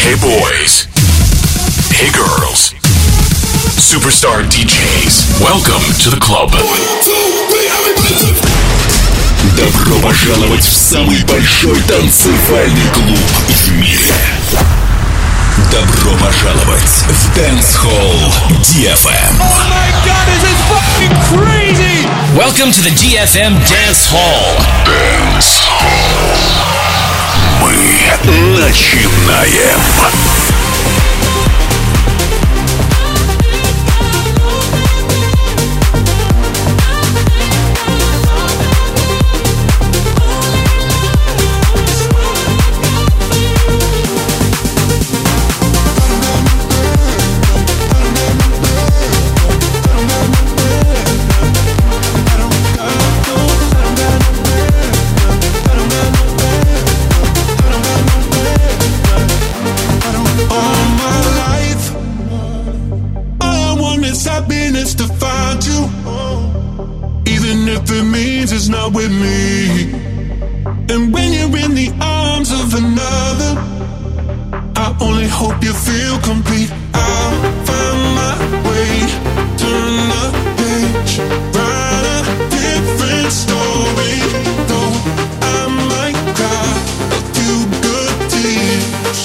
Hey boys. Hey girls. Superstar DJs. Welcome to the club. Добро пожаловать в самый большой танцевальный клуб в мире. Добро пожаловать в Dance Hall DFM. Oh my god, this is fucking crazy! Welcome to the DFM Dance Hall. Dance Hall. Мы начинаем. It's not with me. And when you're in the arms of another, I only hope you feel complete. I'll find my way, turn the page, write a different story. Though I might cry a few good tears,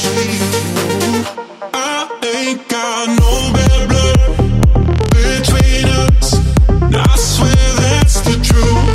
I ain't got no bad blood between us. I swear that's the truth.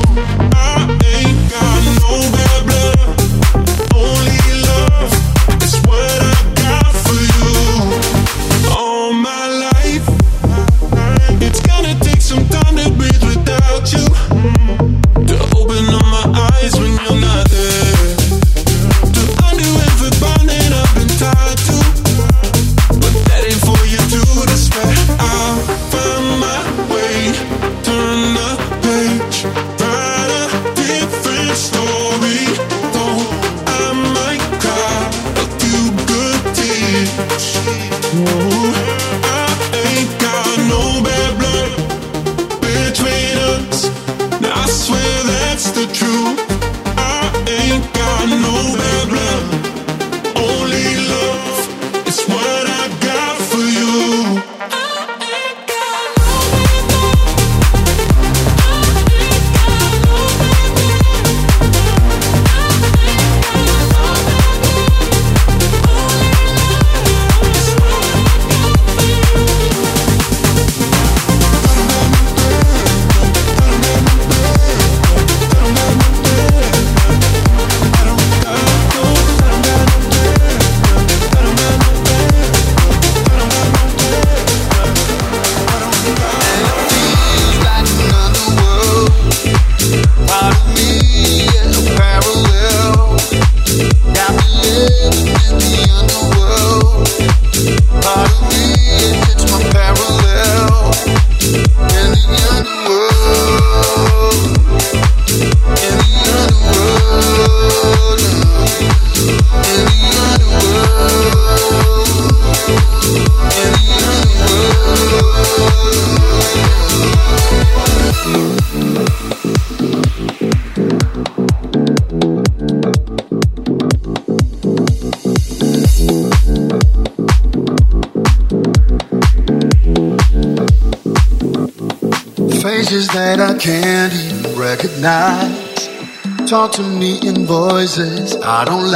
Faces that I can't even recognize, talk to me in voices I don't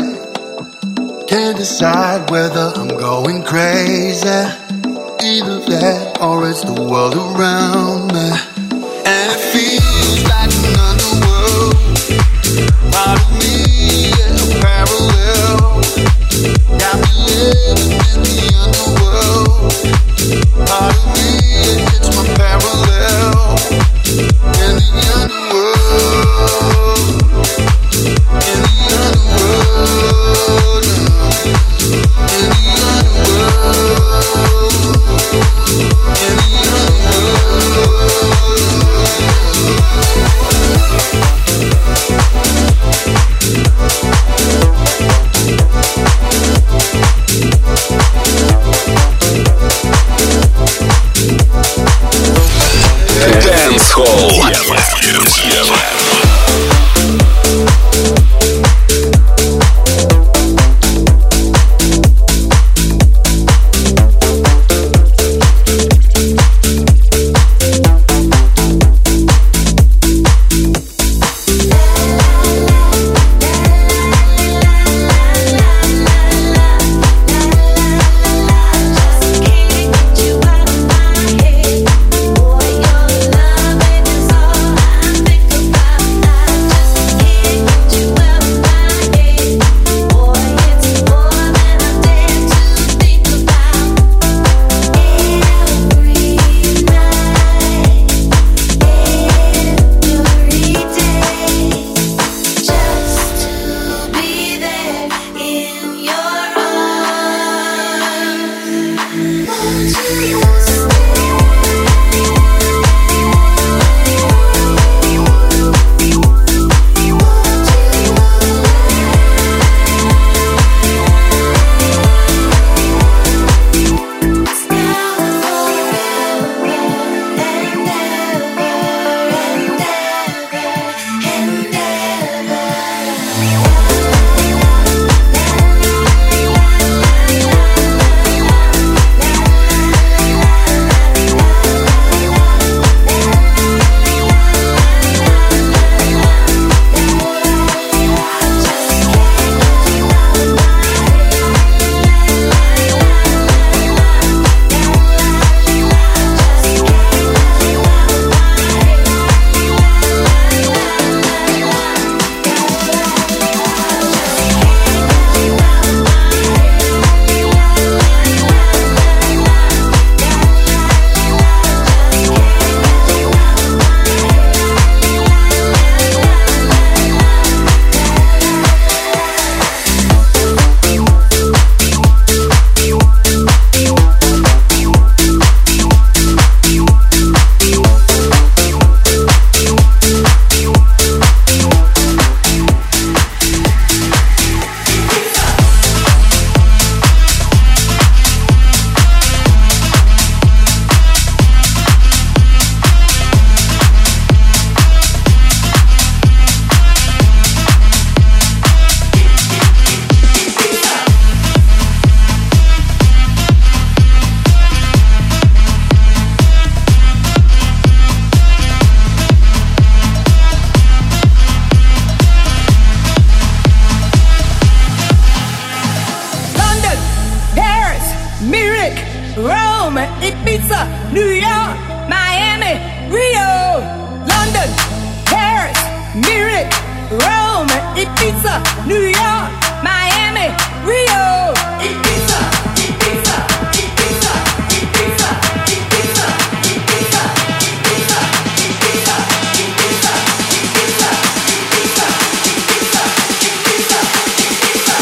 like. Can't decide whether I'm going crazy, either that or it's the world around me. And it feels like an underworld, part of me is a parallel. Got me living in the underworld, part of me it's my parallel. In the underworld, in the underworld, in the underworld, in the Dance Hall. Rome, Ibiza, New York, Miami, Rio, London, Paris, Munich, Rome, Ibiza, New York, Miami, Rio, Ibiza, Ibiza, Ibiza, Ibiza, Ibiza, Ibiza, Ibiza, Ibiza, Ibiza, Ibiza, Ibiza, Ibiza, Ibiza, Ibiza.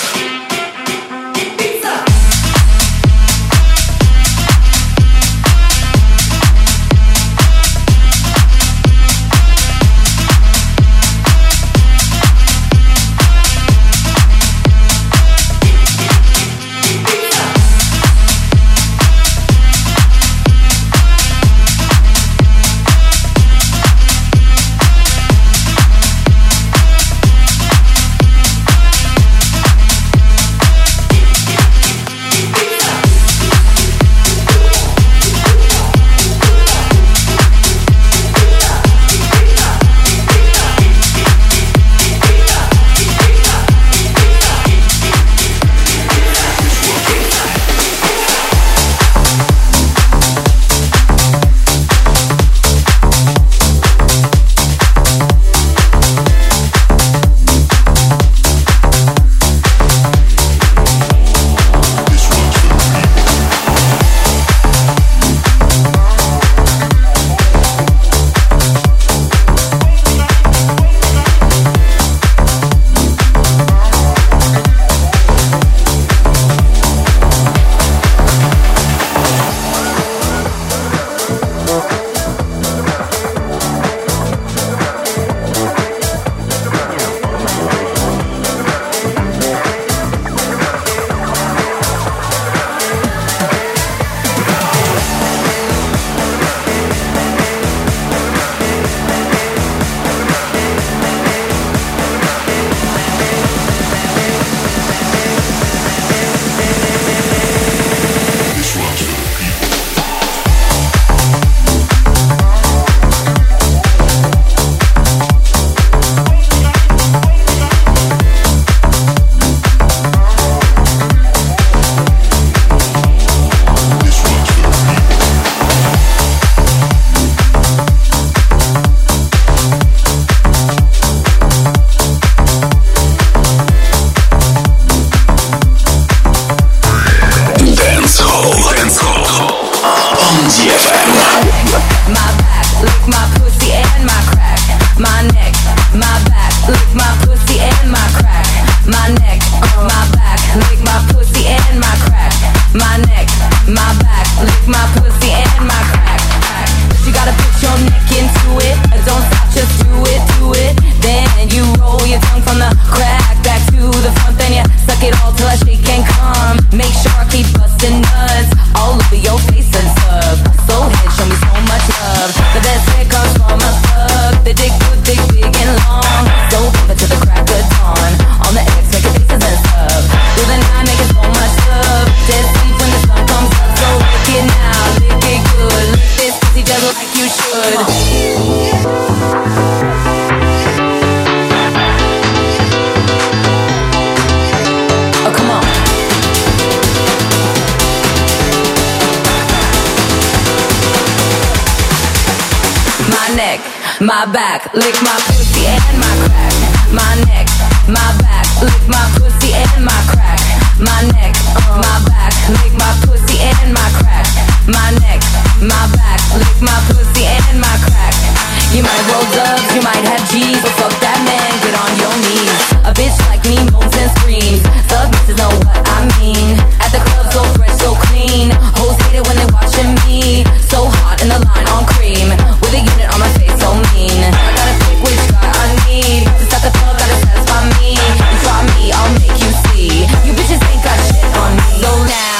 My back, lick my pussy and my crack. My neck, my back, lick my pussy and my crack. My neck, my back, lick my pussy and my crack. My neck, my back, lick my pussy and my crack. You might roll dubs, you might have G's, but fuck that man, get on your knees. A bitch like me moans and screams. Thug bitches know what I mean. At the club, so fresh, so clean. Hoes hate it when they watching me. So hot in the line on cream. With a unit on my face, so mean. I gotta pick which guy I need. To start the club, gotta satisfy me. You try me, I'll make you see. You bitches ain't got shit on me. So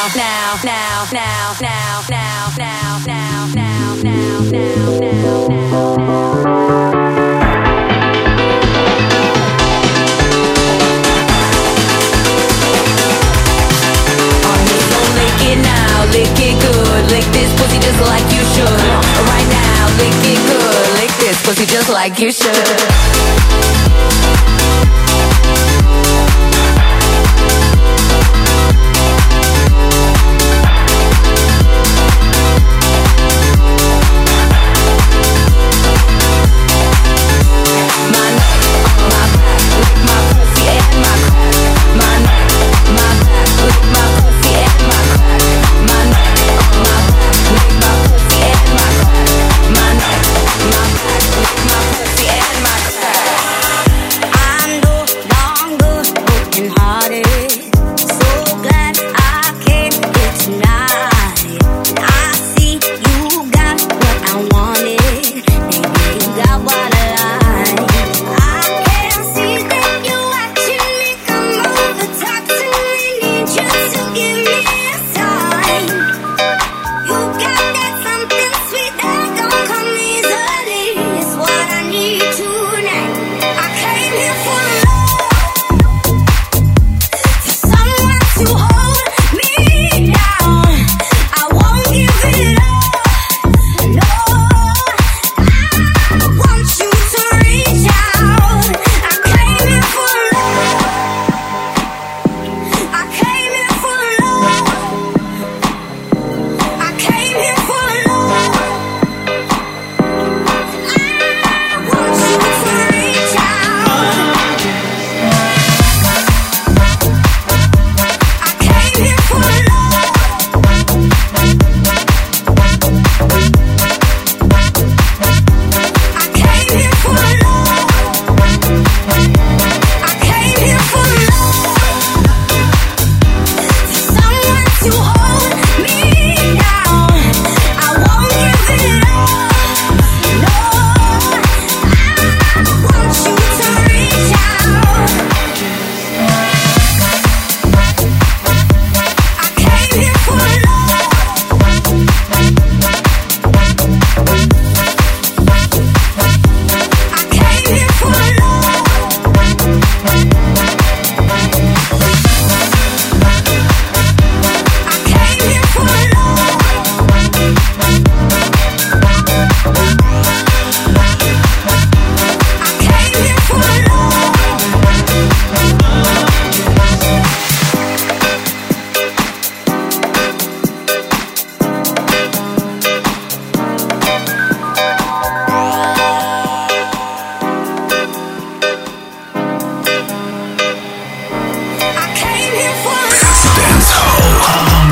lick it good, lick this pussy just like you should. Right now, lick it good, lick this pussy just like you should.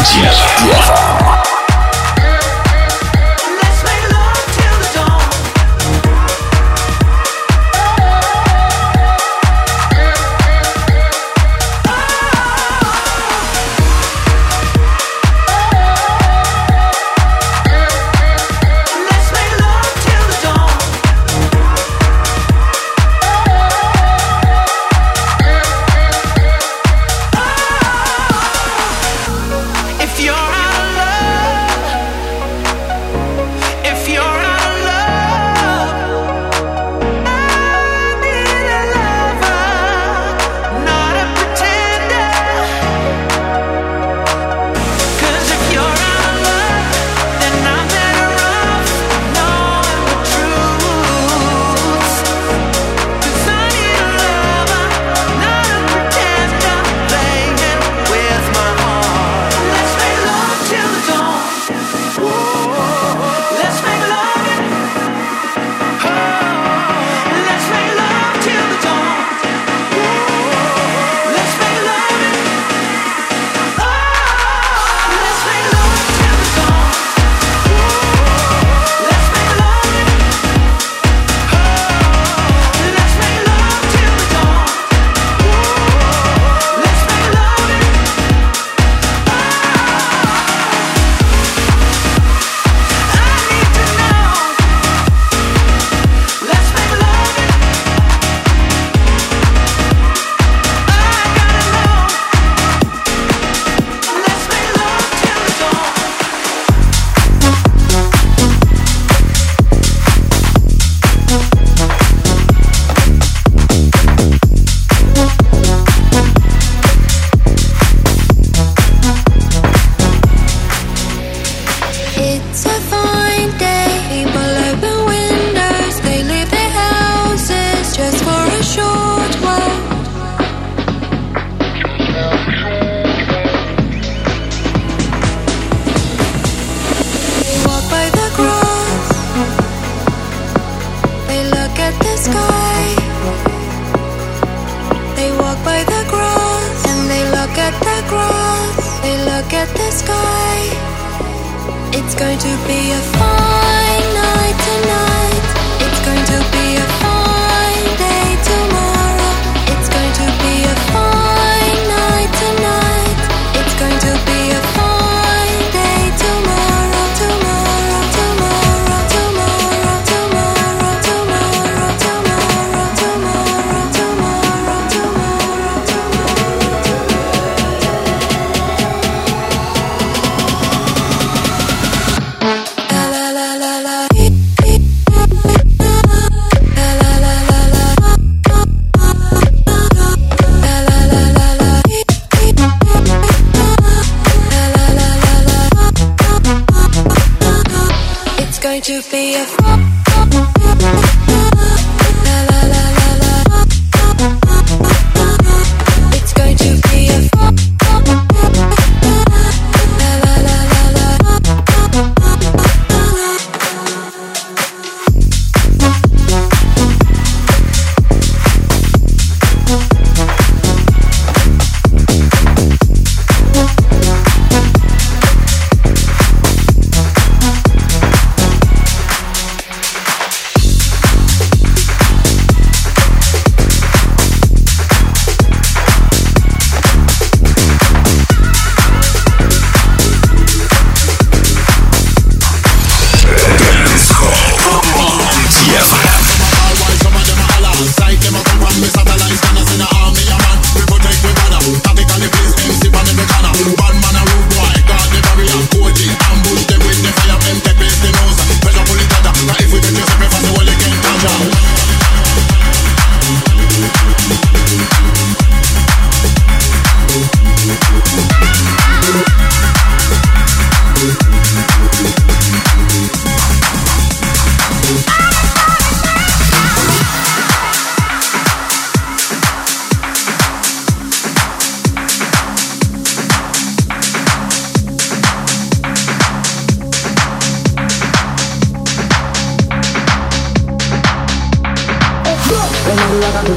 When you walk up to the heart,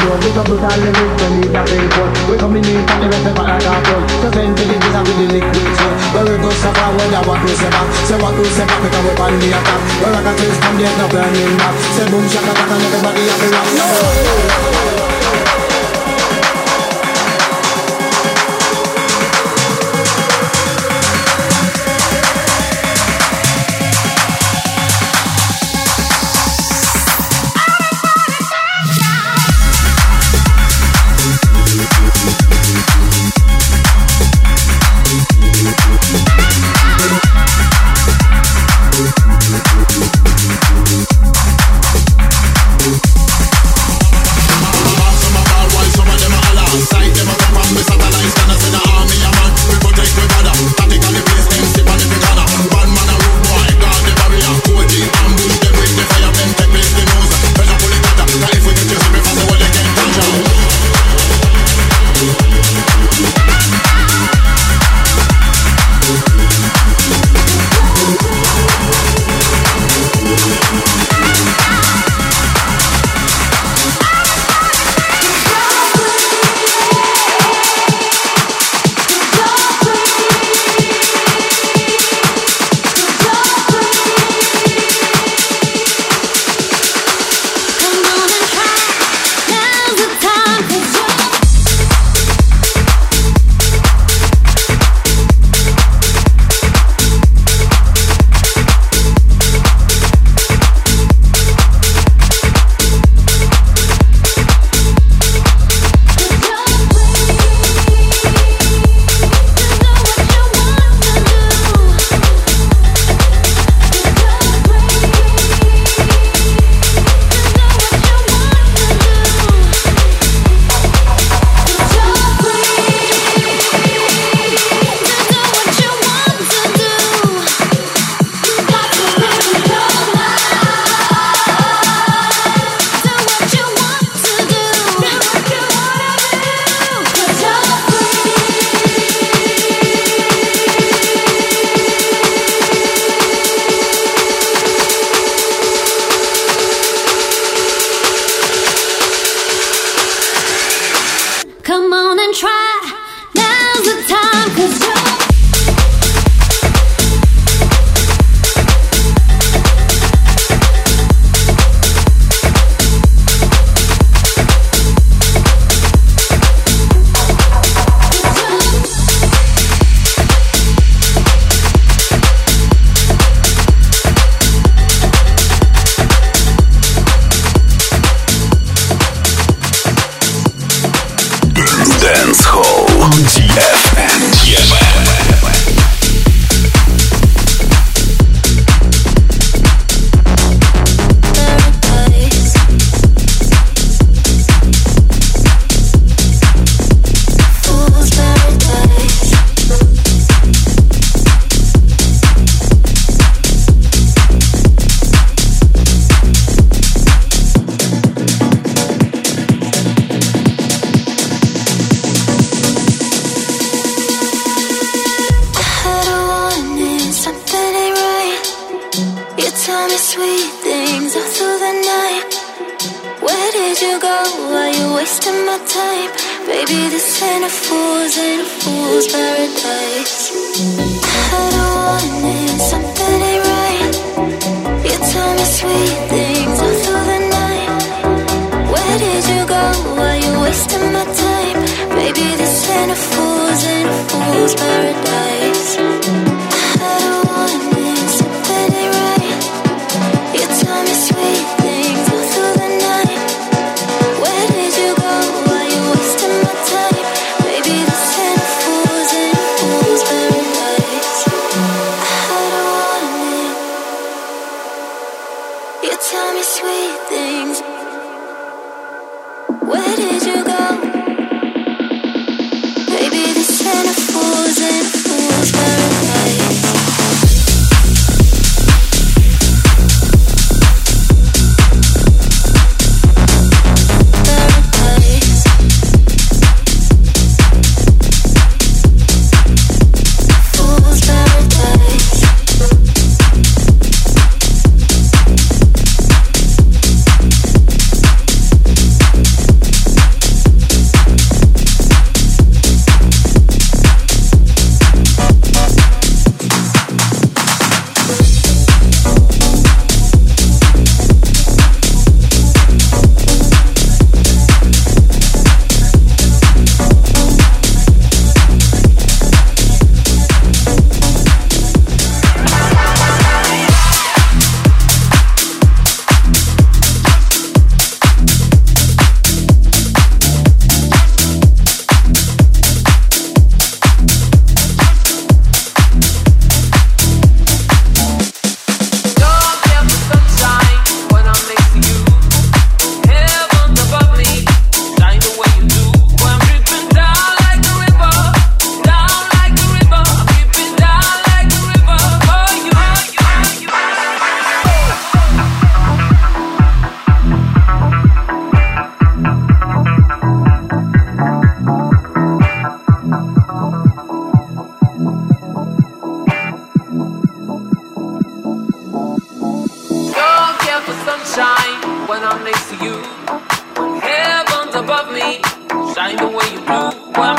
flow. We go put all the lyrics when we got big one. We coming in from the rest of our cartoon. So send to the kids with the liquid soul. Where we go suffer when I want to say back. Say what to say back because we on the attack. Where I can taste from the end of burning back. Say boom shaka attack and everybody have to rock. No!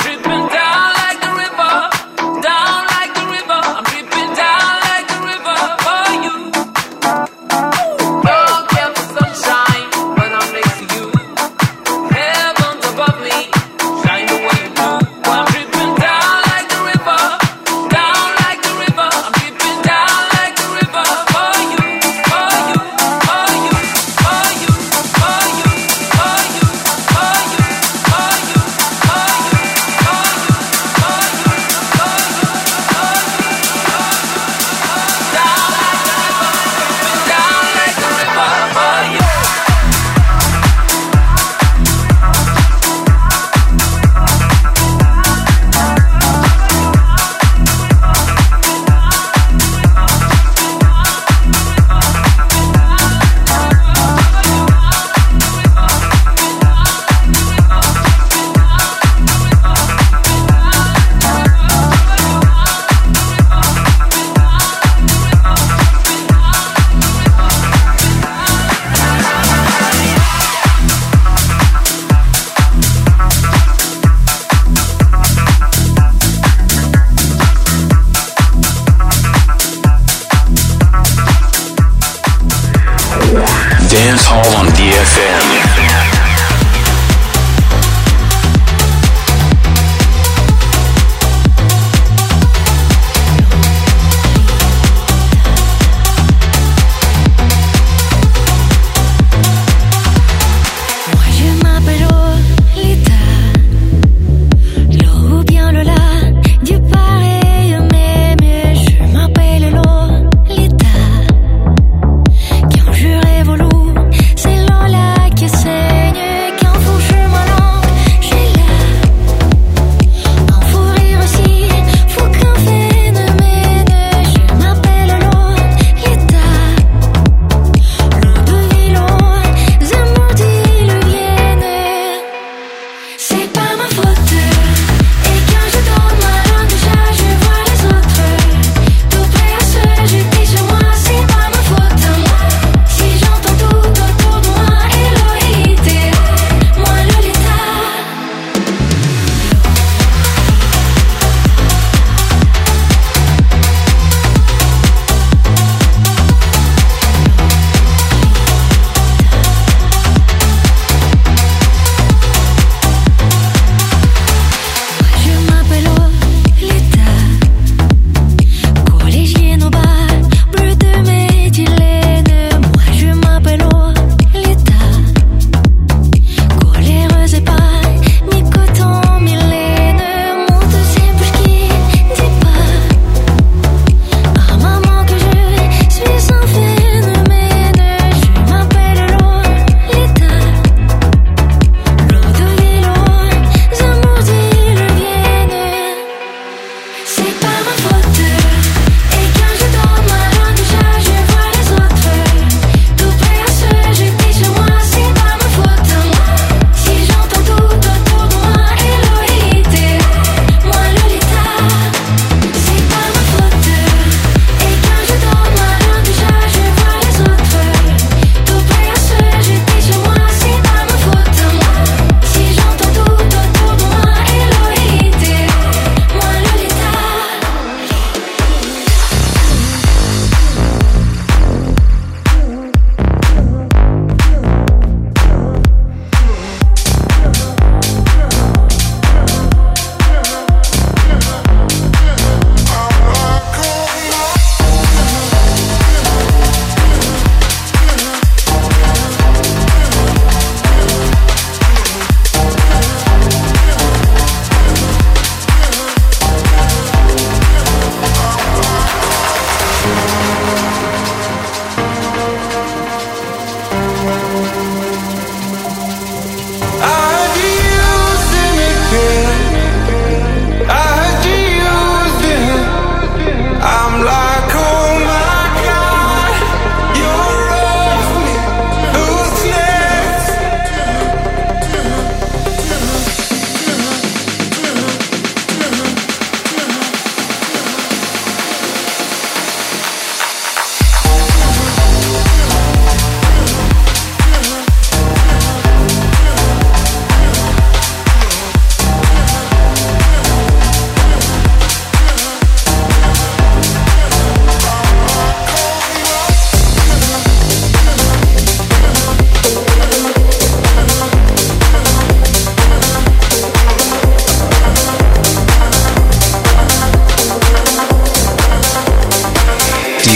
Dance Hall on DFM. Que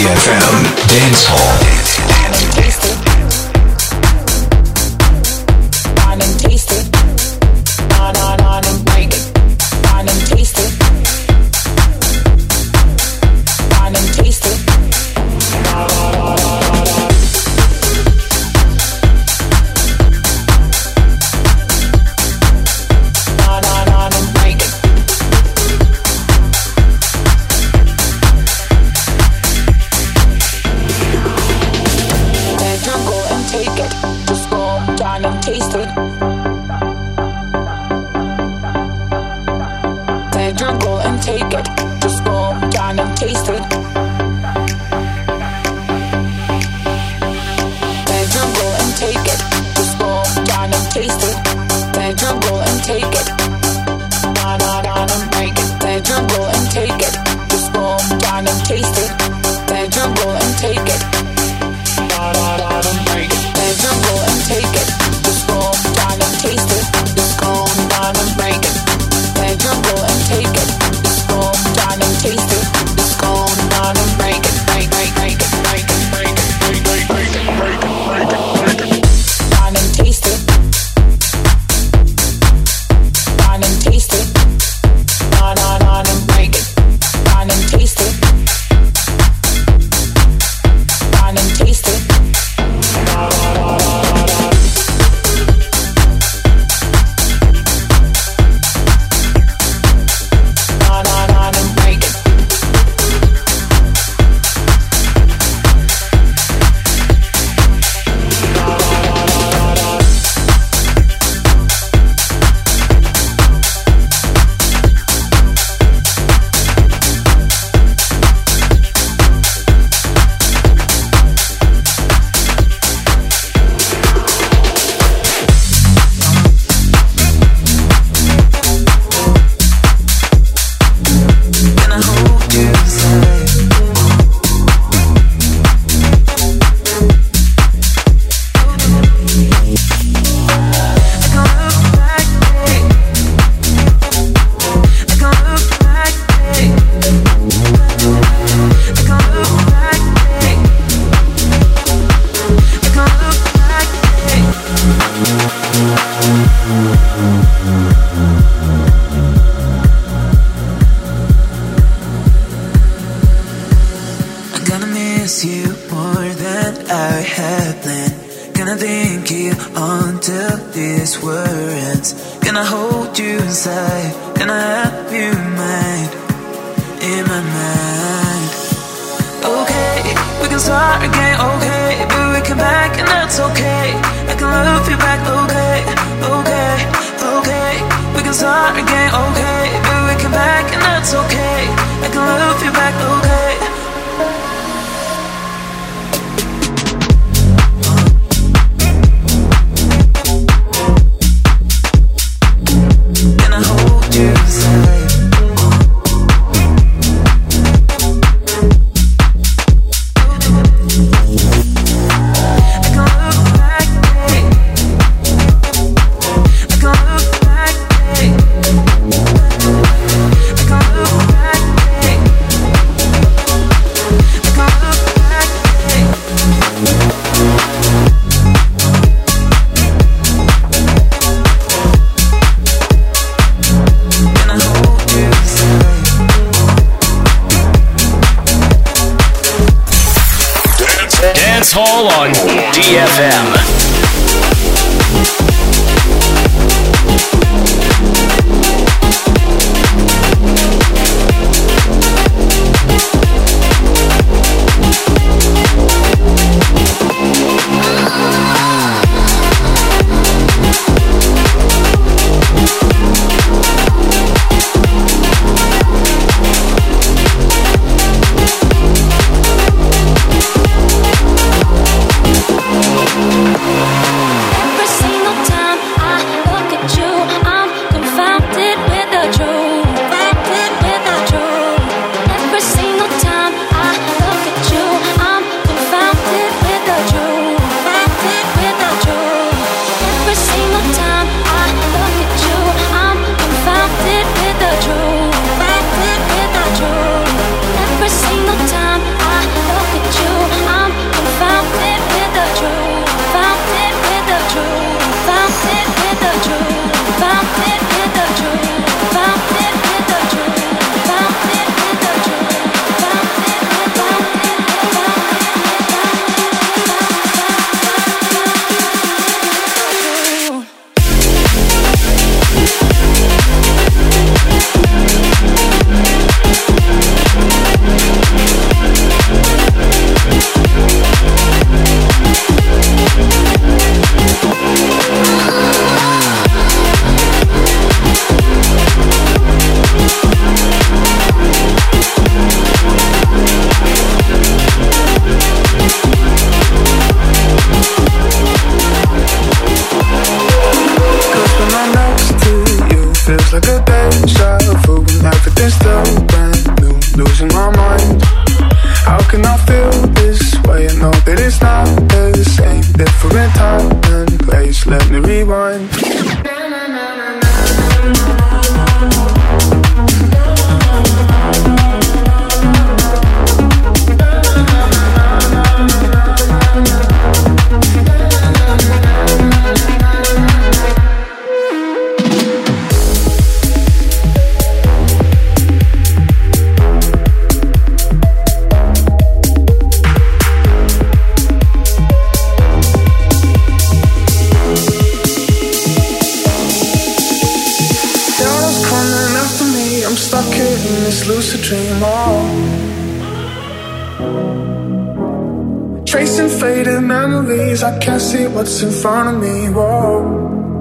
DFM Dance Hall. Dance Hall on DFM. stuck in this lucid dream, tracing faded memories, I can't see what's in front of me, whoa.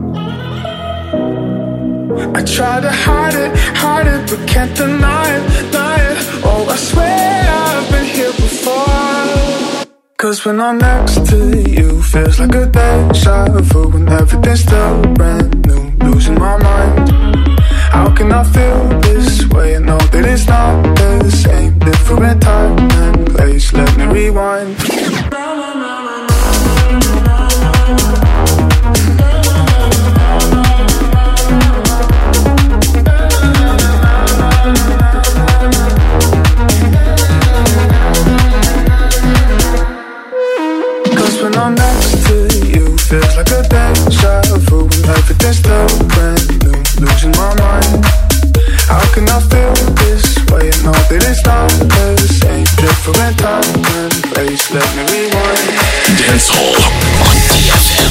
I try to hide it, but can't deny it, deny it. Oh, I swear I've been here before. 'Cause when I'm next to you, feels like a deja vu, when everything's still brand new, losing my mind. How can I feel this way and know that it's not the same? Different time and place, let me rewind. 'Cause when I'm next to you, feels like a deja vu, when everything's still brand new, losing my mind. How can I feel this way and know that it's not the same? Different time and place, let me rewind. Dance Hall on DFM.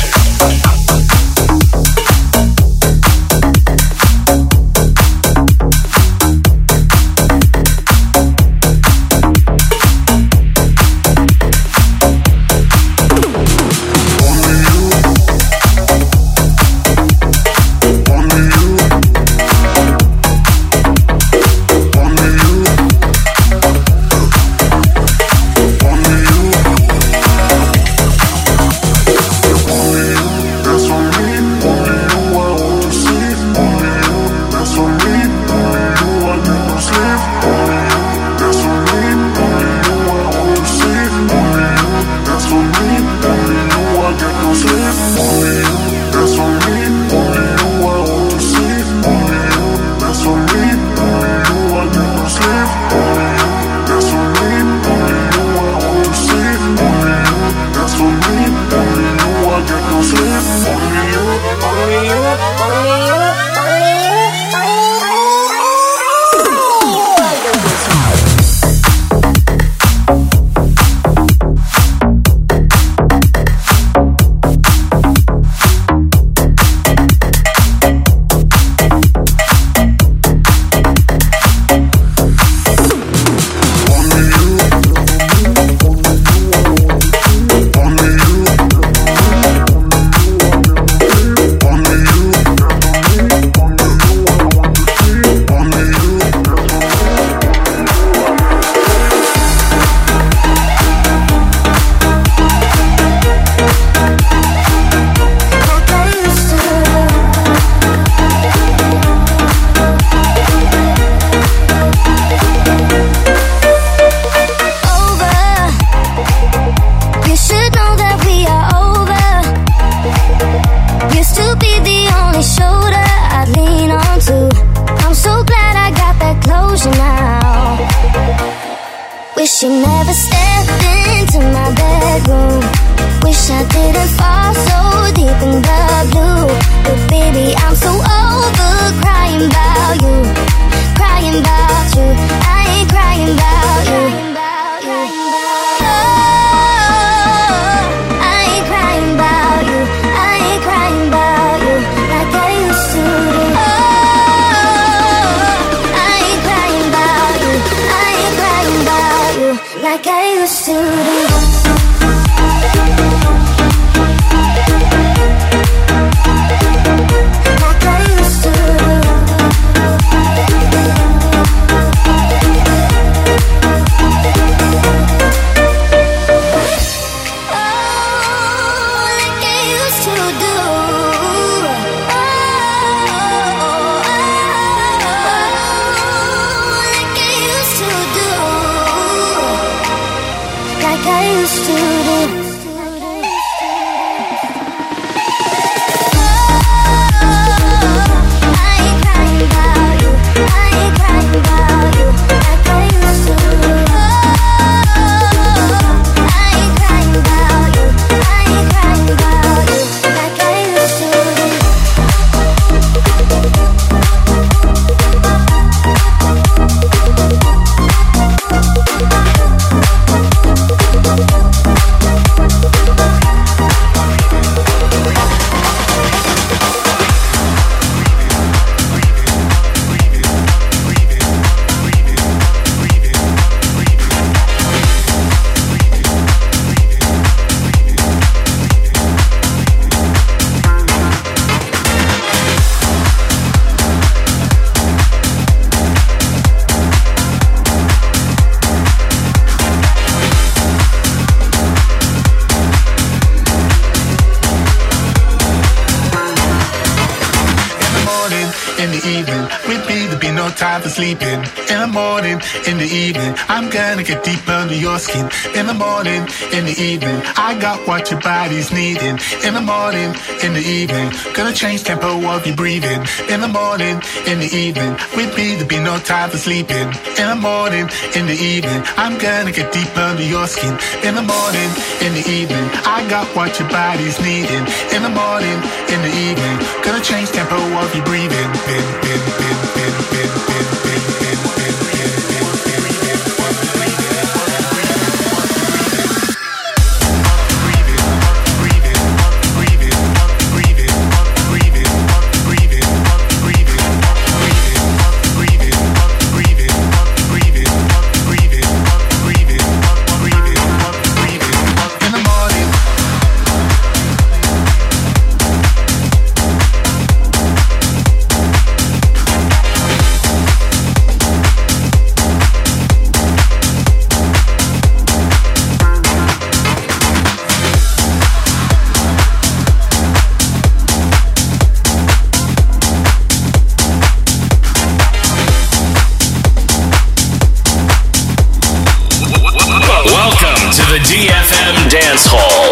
Wish you never stepped into my bedroom. Wish I didn't fall so deep in the blue. But baby, I'm so over crying about you. Crying about you. I ain't crying about you. Oh, I ain't crying about you. I ain't crying about you like I used to do. Oh, I ain't crying about you. I ain't crying about you like I used to do. the evening. With me, there'll be no time for sleeping. In the morning, in the evening, I'm gonna get deep under your skin. In the morning, in the evening, I got what your body's needing. In the morning, in the evening, gonna change tempo of your breathing. In the morning, in the evening, with me, there'll be no time for sleeping. In the morning, in the evening, I'm gonna get deep under your skin. In the morning, in the evening, I got what your body's needing. In the morning, in the evening, gonna change tempo of your breathing. DFM Dance Hall.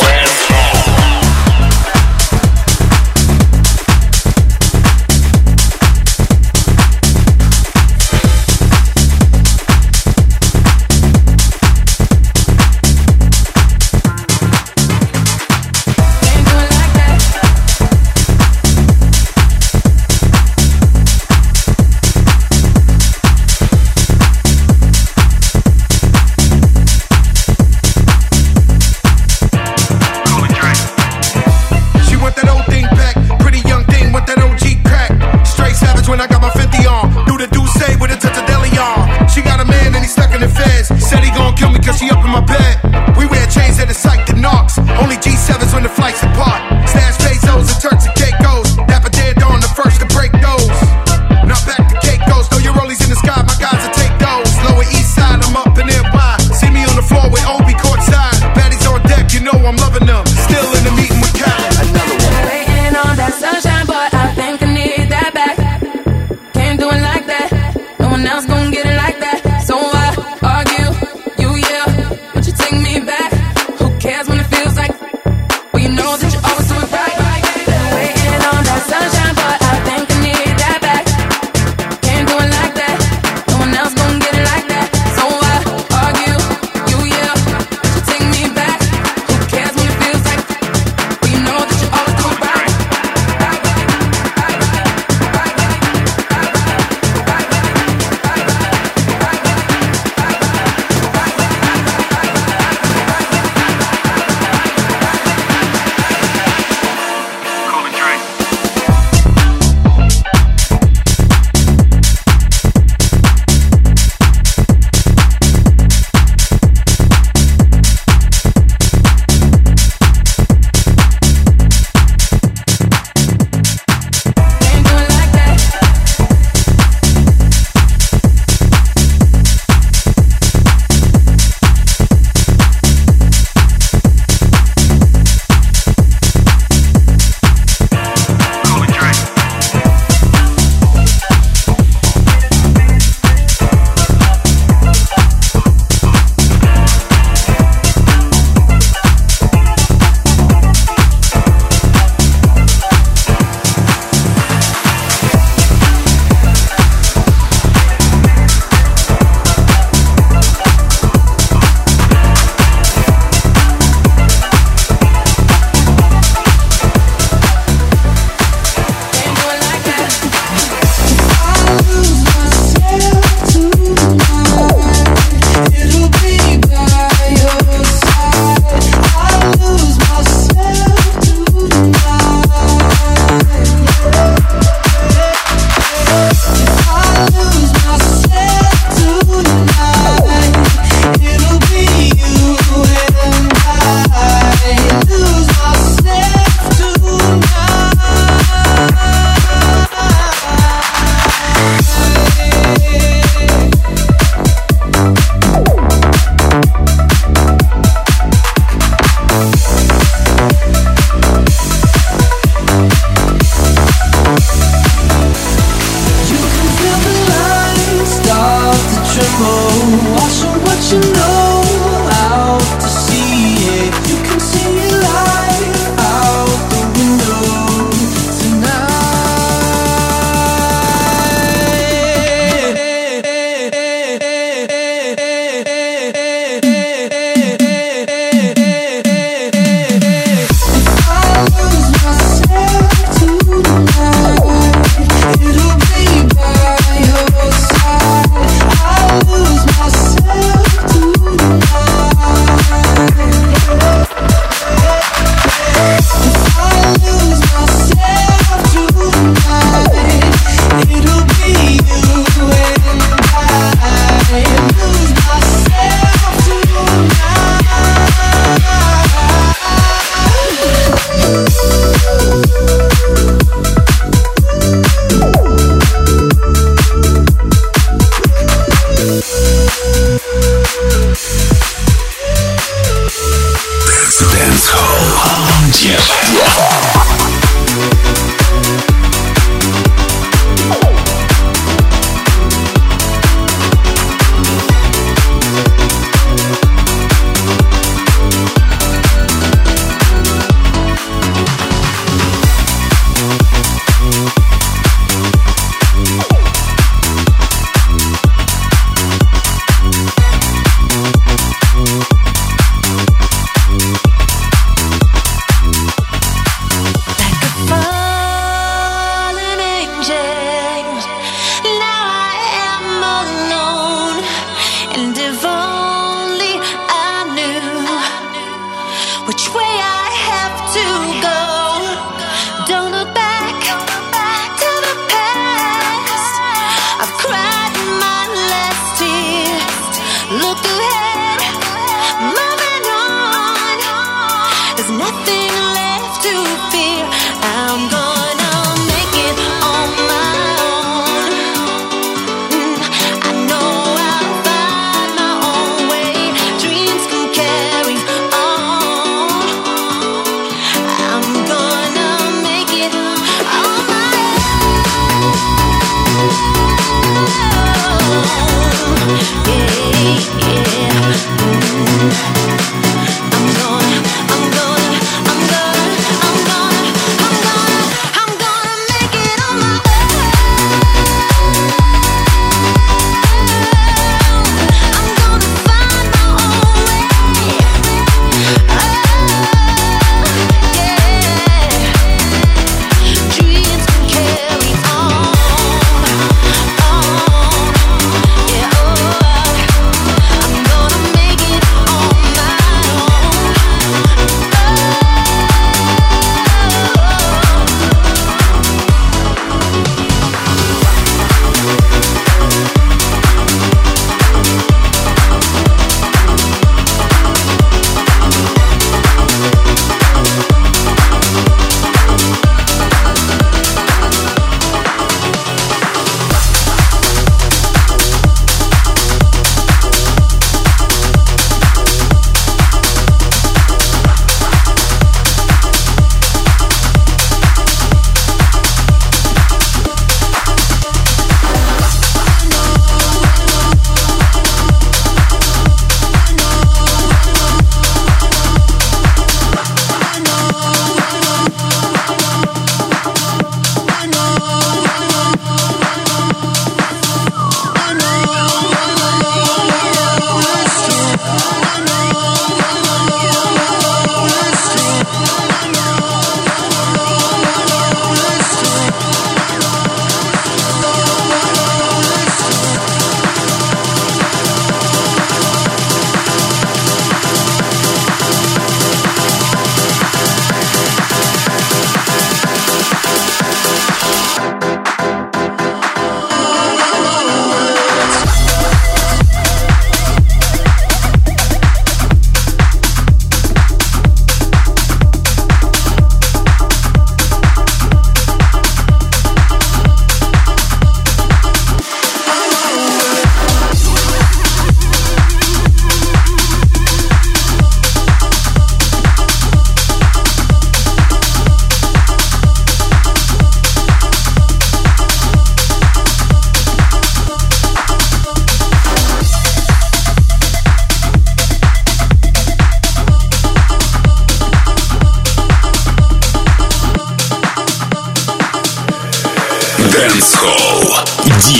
I'm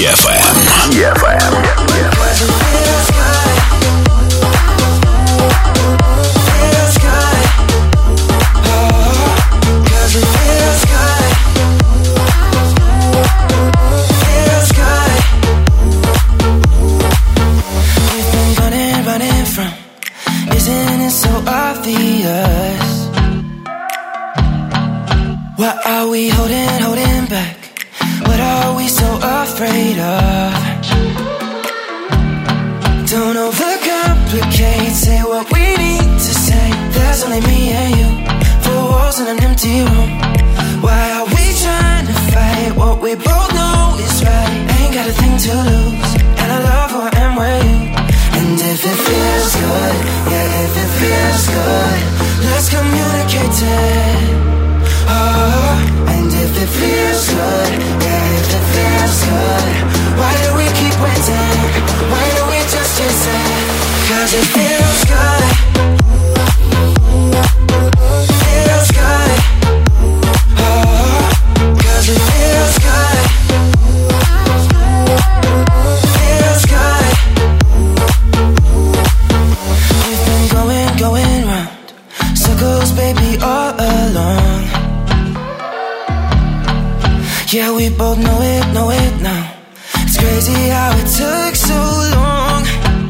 Yeah, we both know it now. It's crazy how it took so long.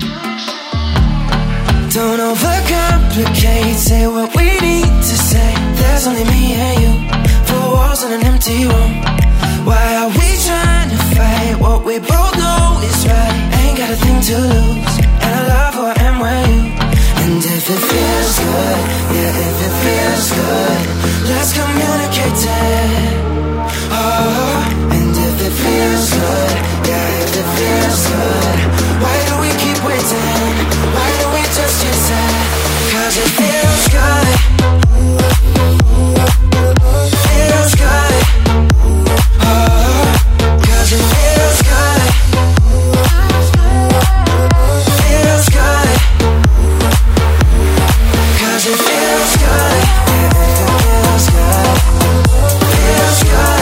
Don't overcomplicate, say what we need to say. There's only me and you, four walls in an empty room. Why are we trying to fight what we both know is right? Ain't got a thing to lose, and I love who I am with you. And if it feels good, yeah, if it feels good, let's communicate it. Oh, and if it feels good, yeah, if it feels good, why do we keep waiting? Why don't we just chase it? 'Cause it feels good. Feels good. Oh, 'cause it feels good. Feels good. 'Cause it feels good. Yeah, it feels good. Feels good.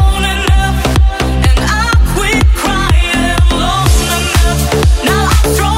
Strong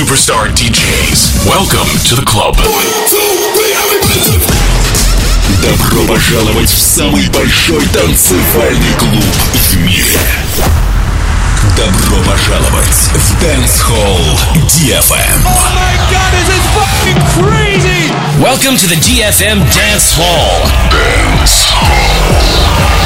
Superstar DJs. Welcome to the club. Добро пожаловать в самый большой танцевальный клуб в мире. Добро пожаловать в Dance Hall DFM. Oh my god, this is fucking crazy! Welcome to the DFM Dance Hall. Dance Hall.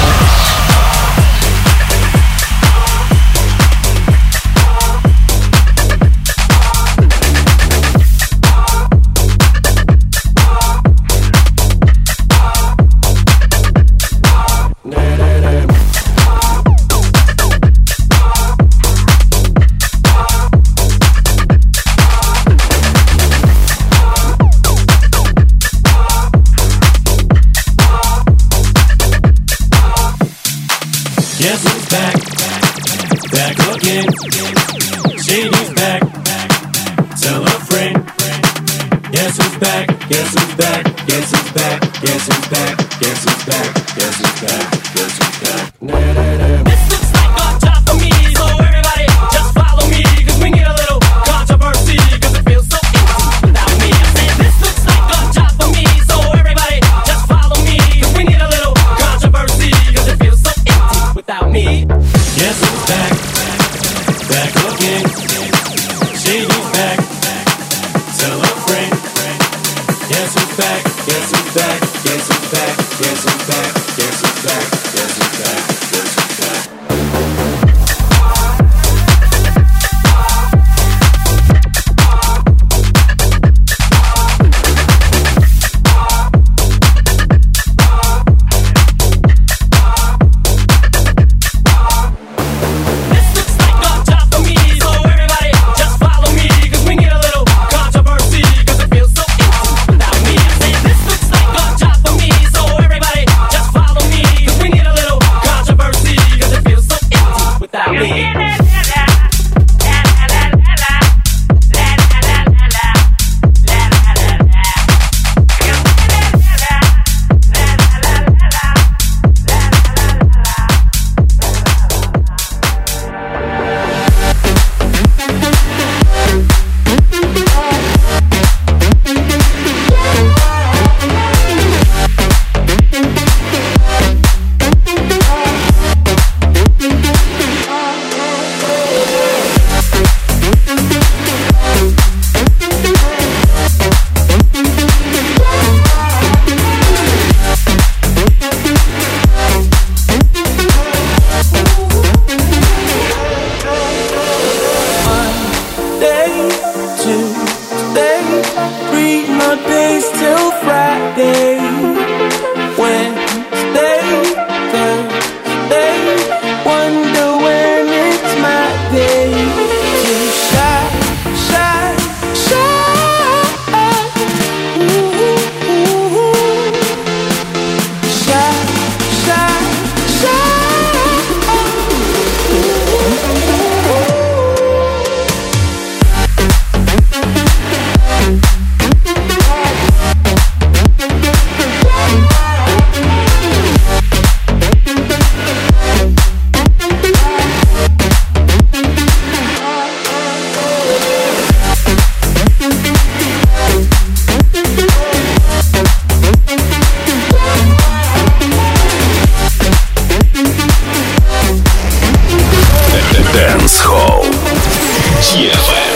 Guess who's back? Back again. Shady's back. Tell a friend. Guess who's back? Guess who's back? Guess who's back? Guess who's back? Guess who's back? Guess who's back? Guess who's back? This looks like a job for me, so everybody just follow me, 'cause we need a little controversy, 'cause it feels so empty without me. I said this looks like a job for me, so everybody just follow me, 'cause we need a little controversy, 'cause it feels so empty without me. Guess who's back? Back again. Shady's back. Tell a friend. Guess who's back? Guess who's back? Guess who's back? Guess who's back? Guess who's back? Guess who's back? Guess who's back? Dance Hall DFM.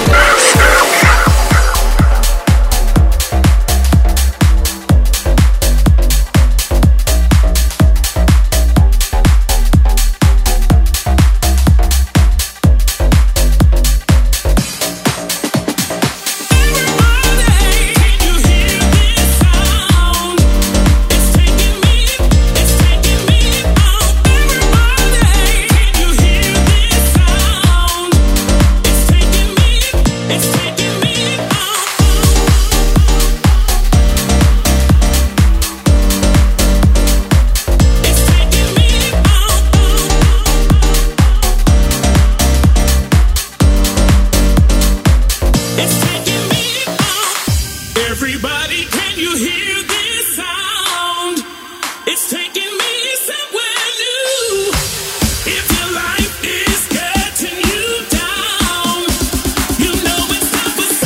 If your life is getting you down, you know it's time for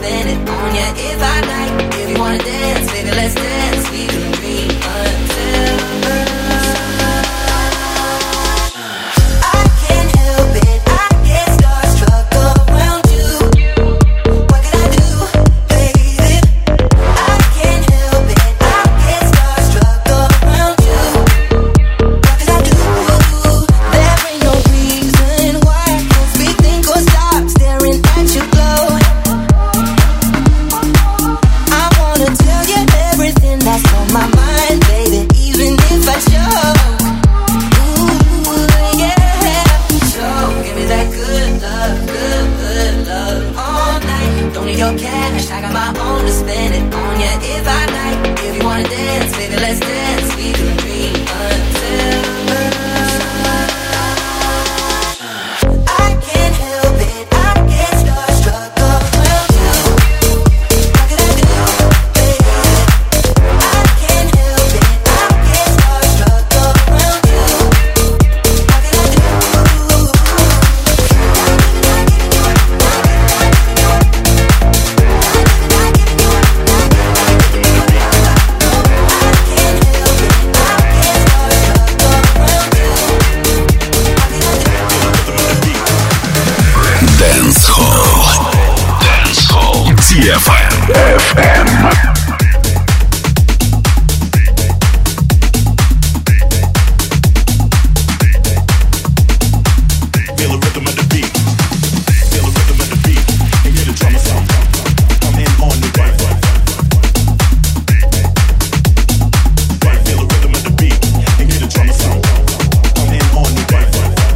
spend it on ya if I like. If you wanna dance, baby, let's dance. We can dream until I can't help it. I get starstruck around you. What can I do, baby? I can't help it. I get starstruck around you. What can I do? There ain't no reason why I can't speak, think, or stop staring at you glow. I wanna tell you everything that's on my mind, baby, even if I choke. Ooh, yeah. So give me that good love, good love all night. Don't need your cash, I got my own to spend it on ya if I like. If you wanna dance, baby, let's dance. We can dream until I can't help it. I get starstruck around you. What can I do, baby? I can't help it. I get starstruck around you. What can I do? Dance Hall DFM. Feel the rhythm of the beat. Feel the rhythm of the beat. And hear the drummer sound. Come in on the right. Right, feel the rhythm of the beat. And hear the drummer sound. Come in on the right.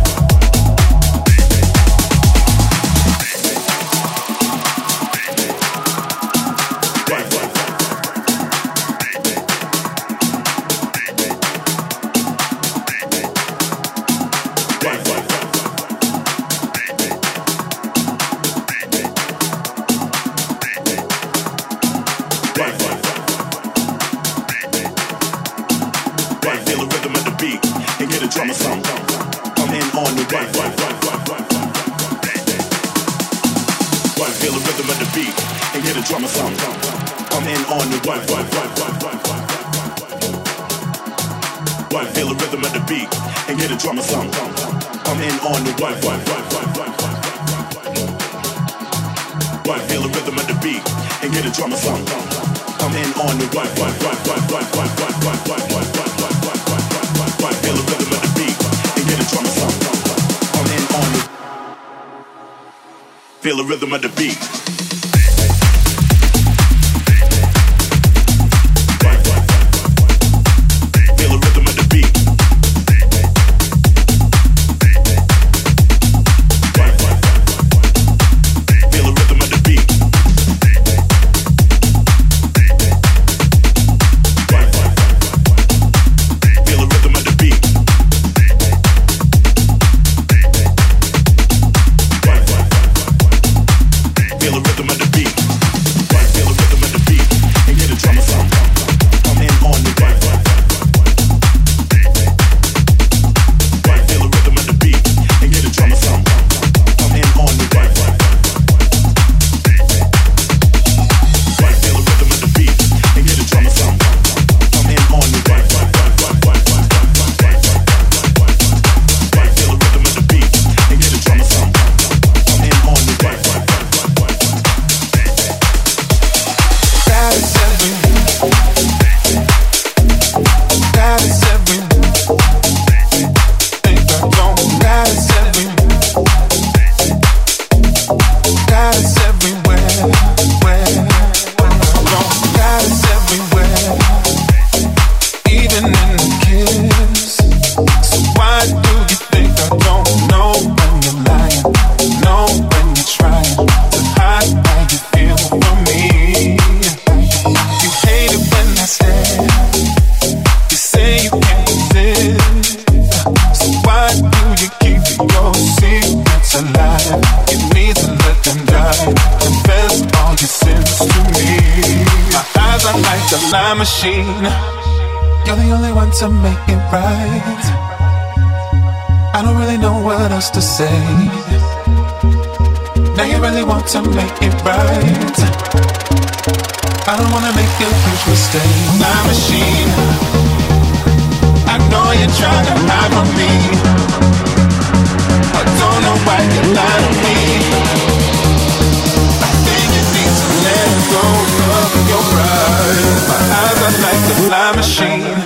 Right, feel the rhythm of the beat. And hear the drummer sound. Come in on the right. Right, feel the rhythm of the beat. And hear the drummer sound. Come in on the right. Right, feel the rhythm of the beat. And hear the drummer sound. Come in on the right. Right, feel the rhythm of the beat. And hear the drummer sound. Come in on the right. Right, feel the rhythm of the beat. And hear the drummer sound. Come in on the. Feel the rhythm of the beat. Feel the rhythm of the beat. Feel the rhythm of the beat. Feel the rhythm of the beat. Feel the rhythm of the beat. Right, feel the rhythm of the beat. And hear the drummer sound. Come in on the right. Right, feel the rhythm of the beat. And hear the drummer sound. Come in on the right. Right, feel the rhythm of the beat. And hear the drummer sound. Come in on the right. Right, feel the rhythm of the beat. And hear the drummer sound. Come in on the right. That is everything. That is everything. Think I don't. That is everything. That is everywhere. Where that is everywhere. Even in the kiss. So why do you think I don't know when you're lying? Know when you're trying to hide how you feel for me. You hate it when I stare. You say you can't resist. So why do you keep your secrets alive? You need to let them die. Confess all your sins to me. My eyes are like a lie machine. You're the only one to make it right. I don't really know what else to say. Now you really want to make it right. I don't wanna make a huge mistake. My machine, I know you're trying to hide from me. I don't know why you lie to me. I think you need to let go of your pride. My eyes are like a fly machine.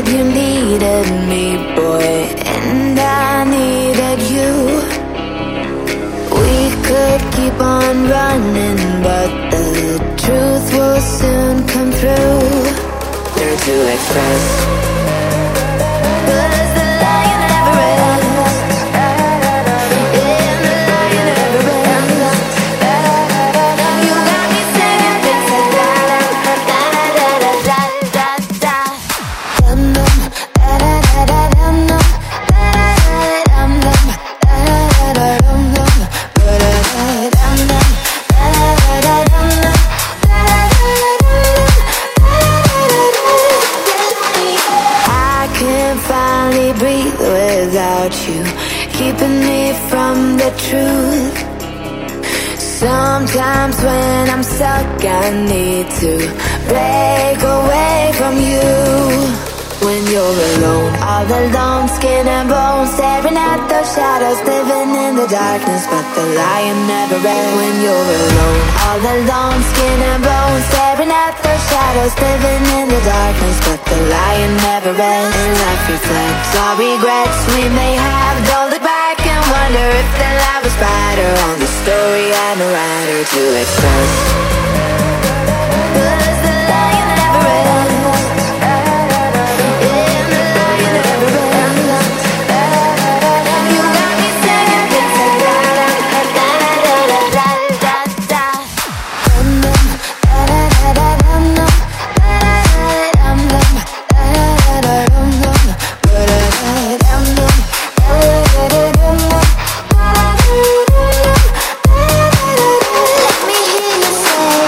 said you needed me, boy, and I needed you. We could keep on running, but the truth will soon come through. Learn to express, 'cause the lion never ends. Yeah, the lion never ends. You got me singing things like da da da da da da da da. Dum dum da da da da dum dum da da dum dum da da da dum dum da da dum dum da da dum dum. I can finally breathe without you, keeping me from the truth. Sometimes when I'm stuck, I need to break away from you. When you're alone, all alone, skin and bones, staring at those shadows, living in the darkness, but the lion never ends. When you're alone, all alone, skin and bones, staring at those shadows, living in the darkness, but the lion never ends. And life reflects all regrets we may have. Don't look back and wonder if the light was brighter on the story I'm a writer to express. 'Cause the lion never ends. Let me hear you say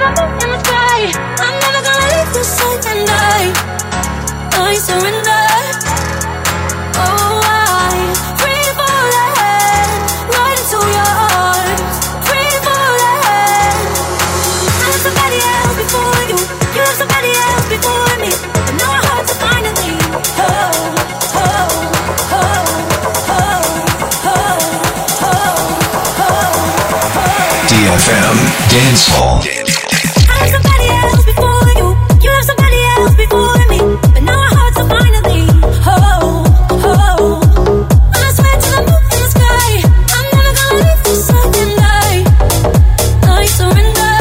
the moon in the sky. I'm never gonna leave this side, and I surrender. Oh, I'm free falling right into your arms. Free falling. I love somebody else before you. You love somebody else before me. And now our hearts are finally. DFM Dance Hall. I love somebody else before you. You love somebody else before me. But now our hearts are finally. I swear to the moon in the sky. I'm never gonna leave this side, and I surrender.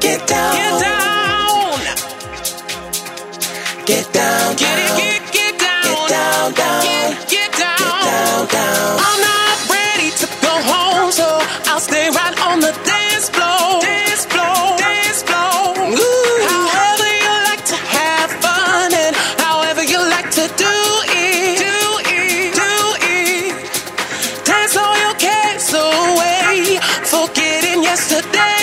Get down. Get down. Get down. Get down. Get down. Get down. I'm not ready to go home, so I'll stay right on the dance floor. Dance floor. Dance floor. Ooh. However you like to have fun and however you like to do it. Do it. Do it. Dance all your cares away, forgetting yesterday.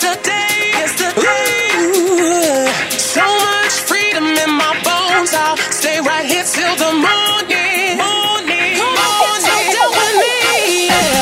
Ooh. So much freedom in my bones. I'll stay right here till the morning. Come on, so down with me. Yeah.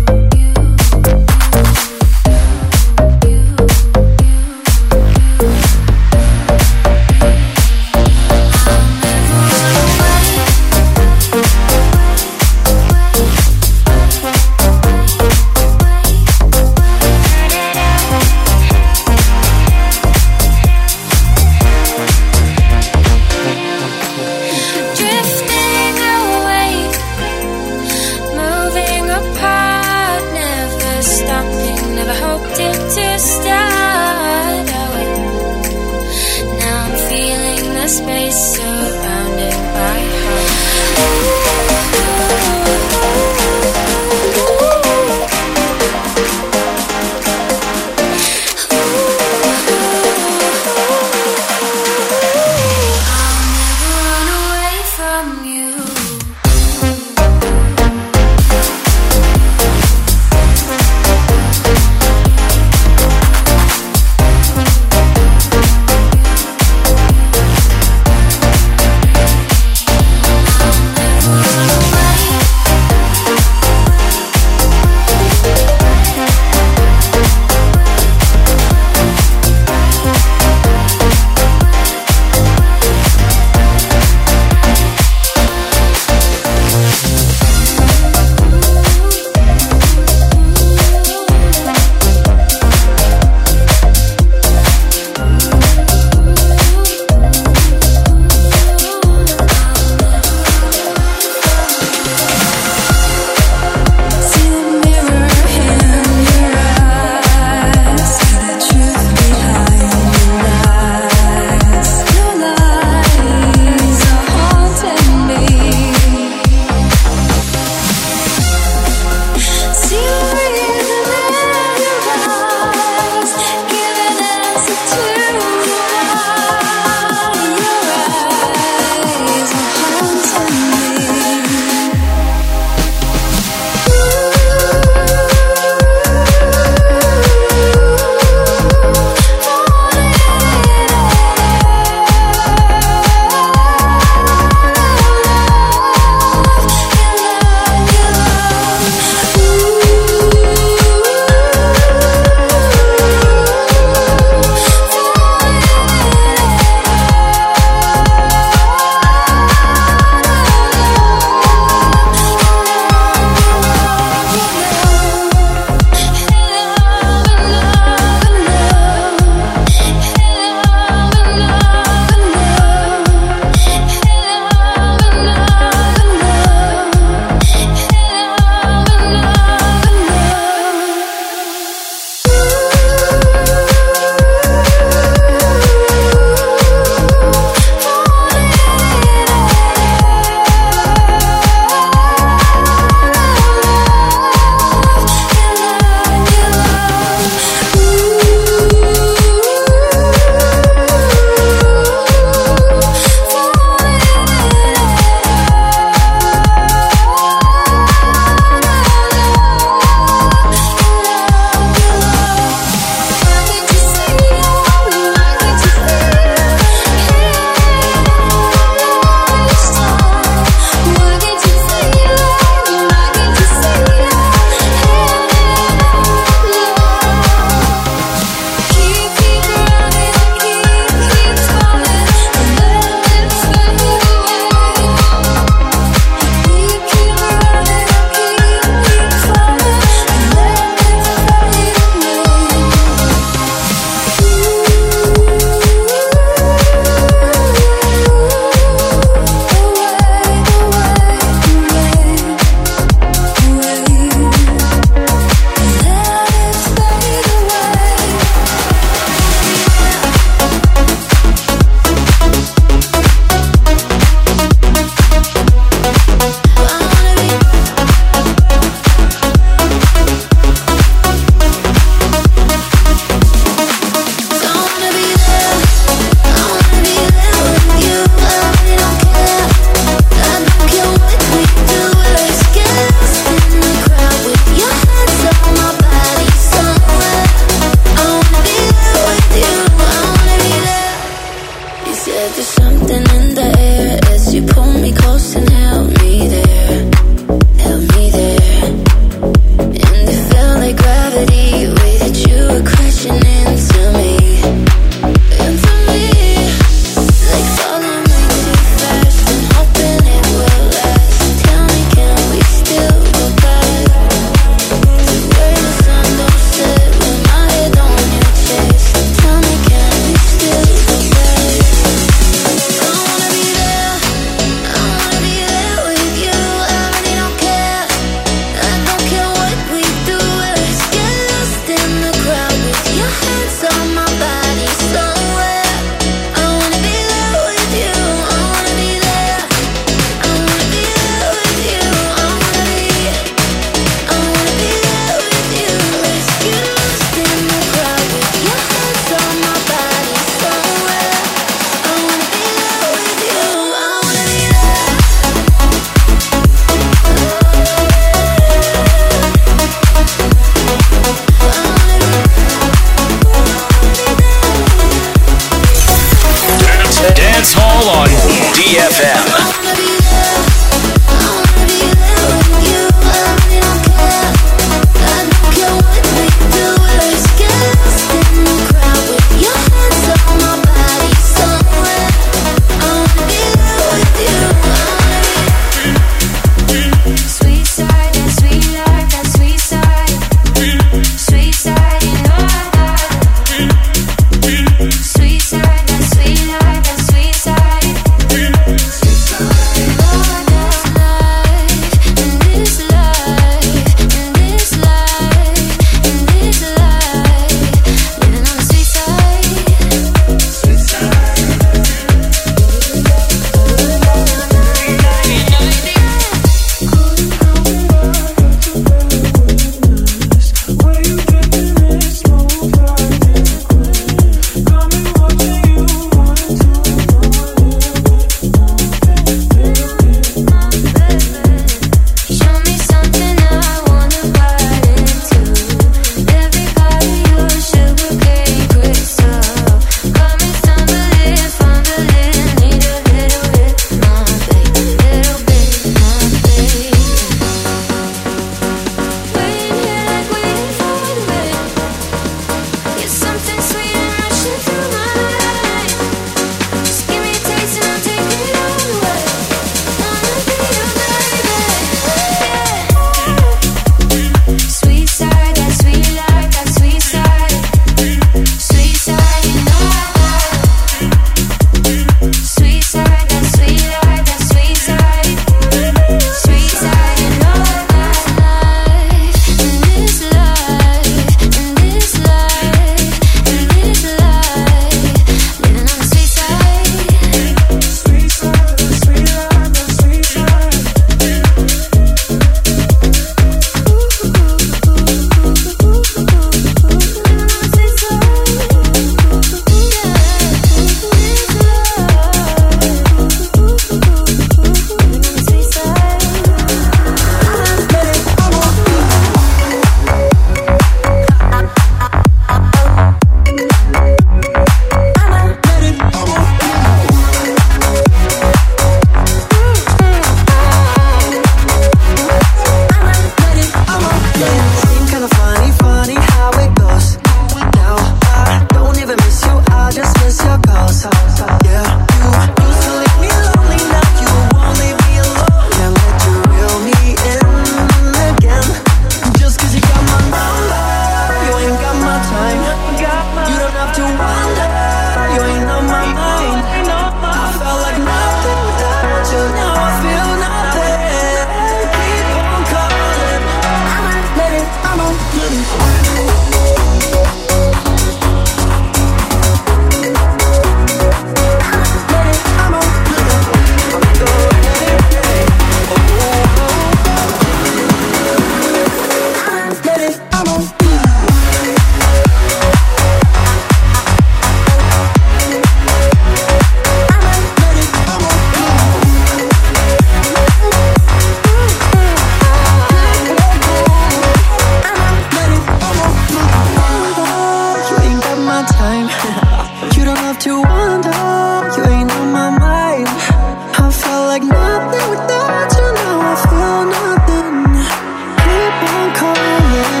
time. You don't have to wonder, you ain't on my mind. I felt like nothing without you, now I feel nothing. Keep on calling.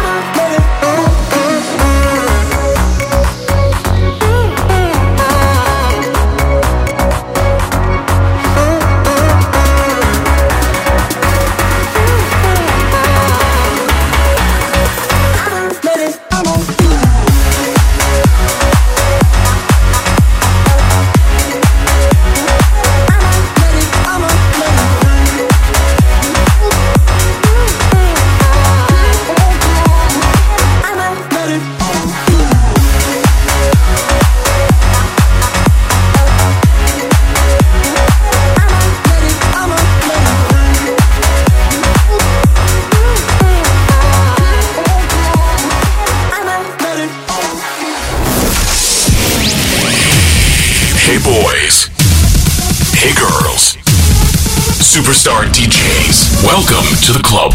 Superstar DJs. Welcome to the club.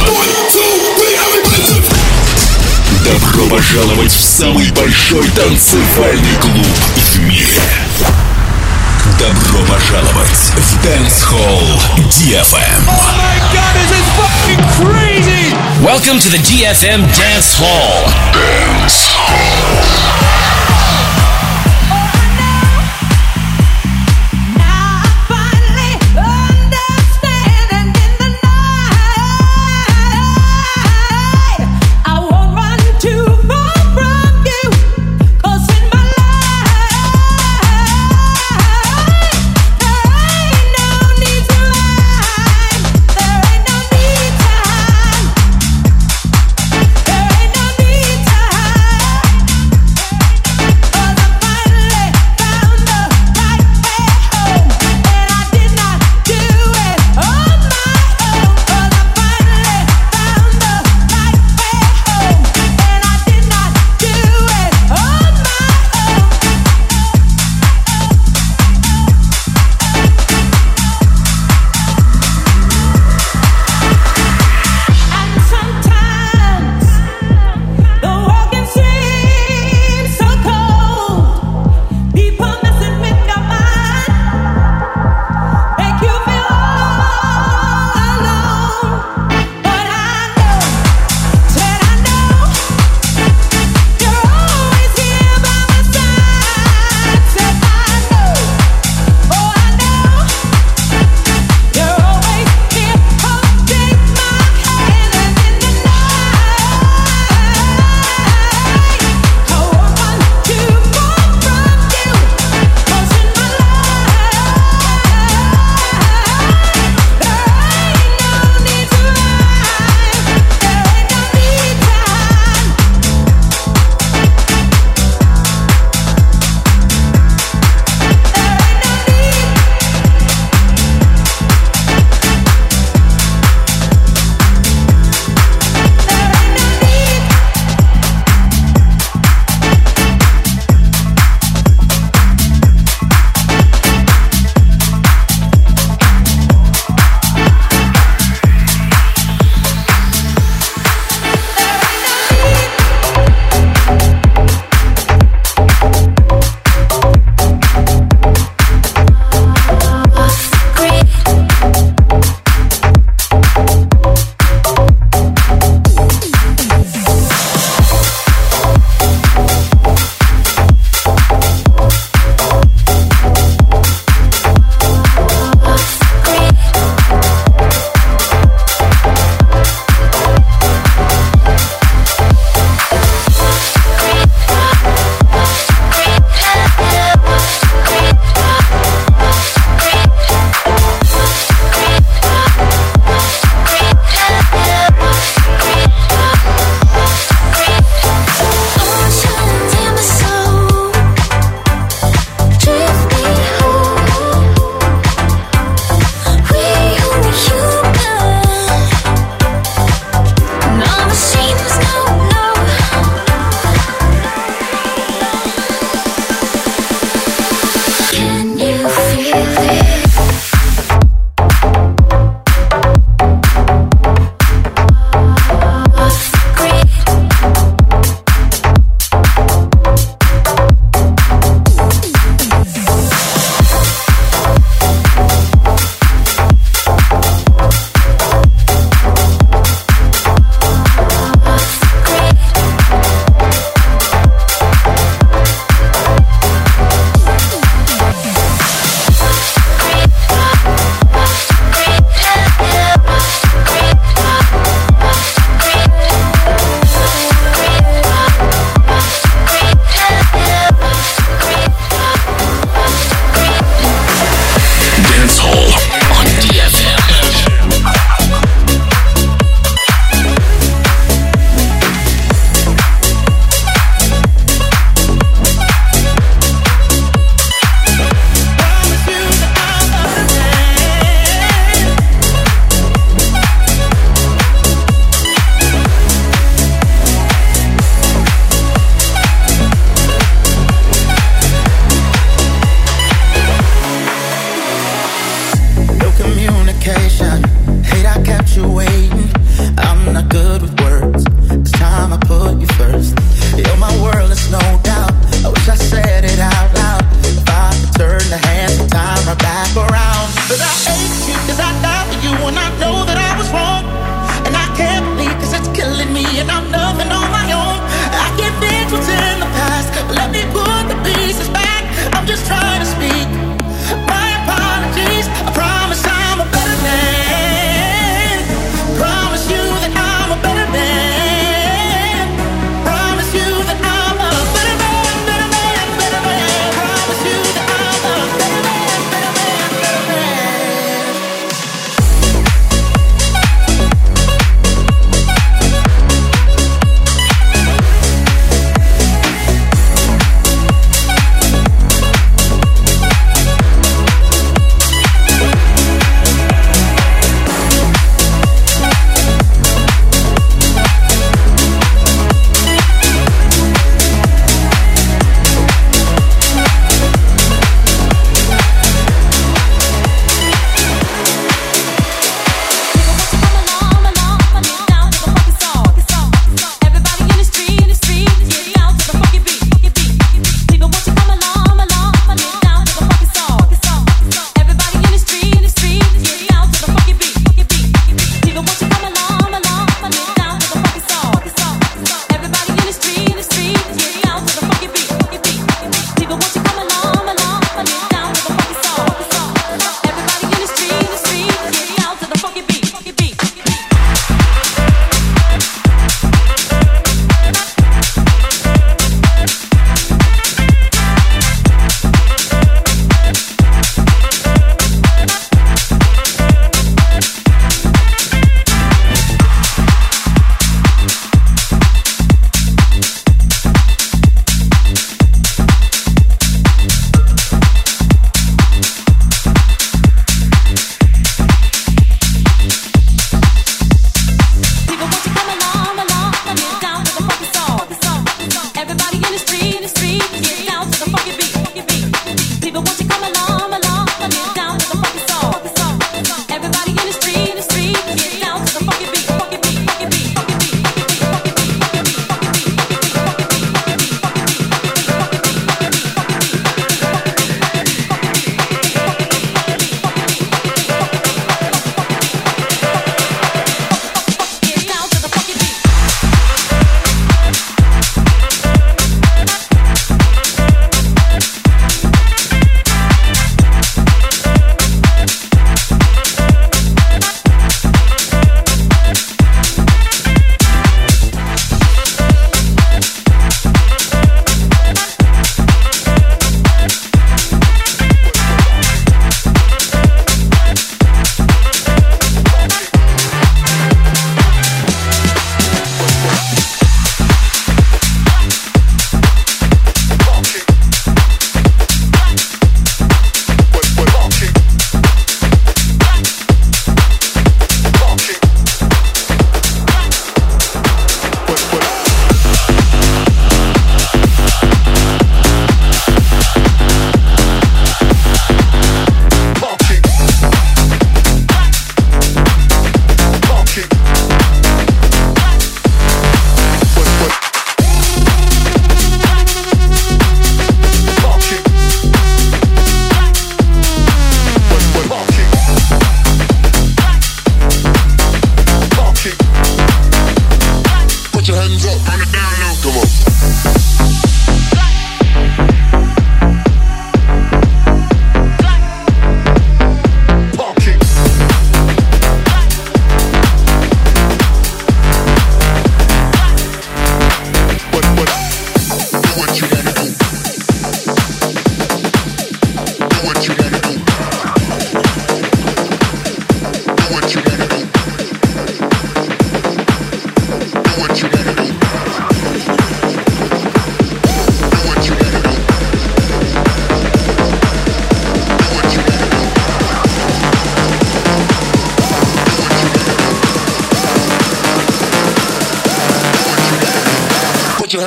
Добро пожаловать в самый большой танцевальный клуб в мире. Добро пожаловать в Dance Hall DFM. Oh my god, this is fucking crazy! Welcome to the DFM Dance Hall. Dance Hall.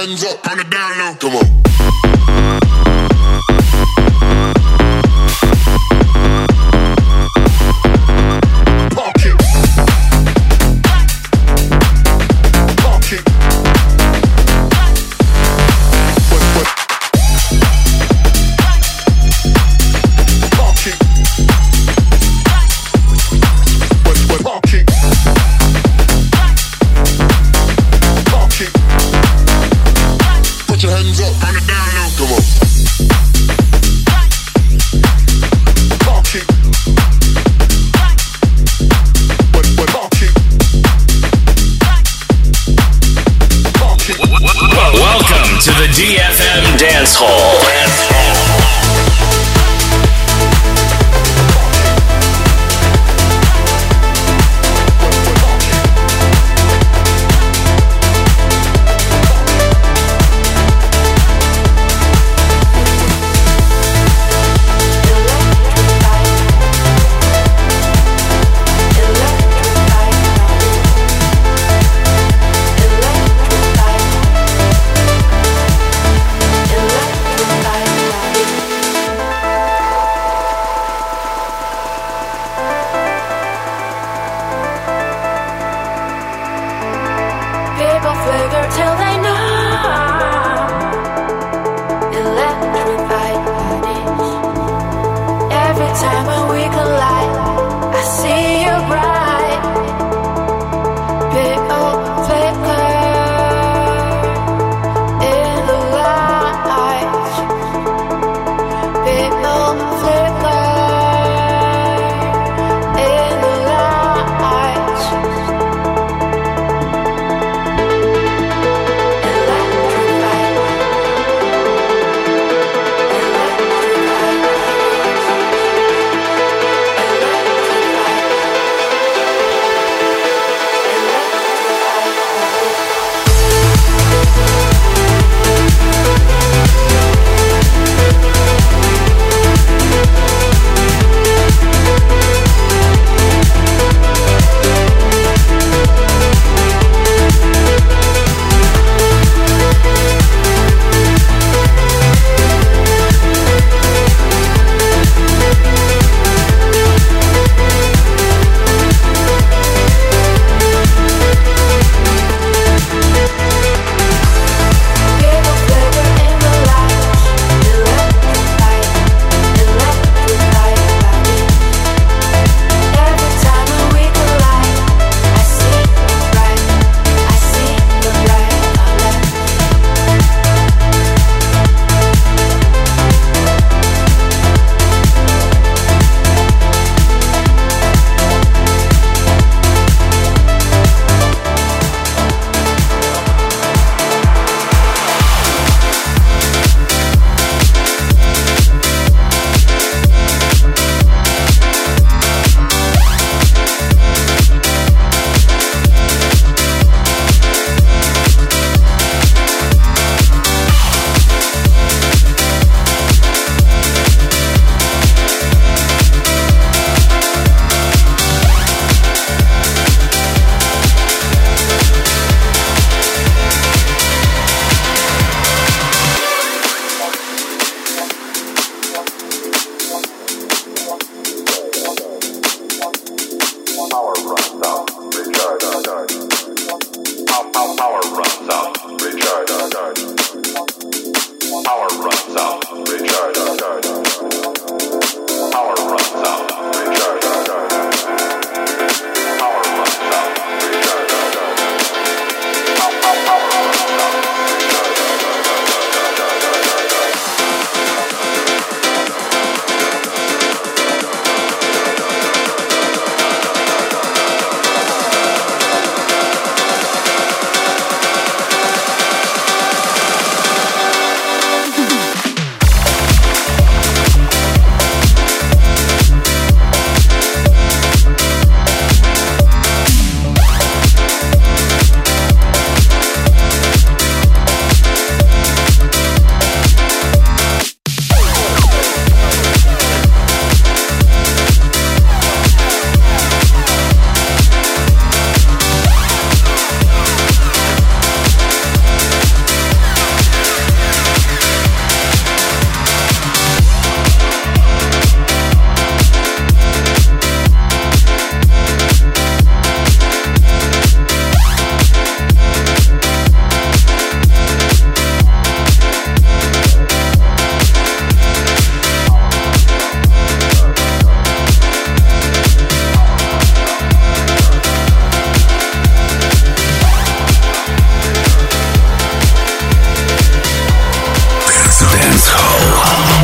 hands up on the down low. Come on. To the DFM Dance Hall.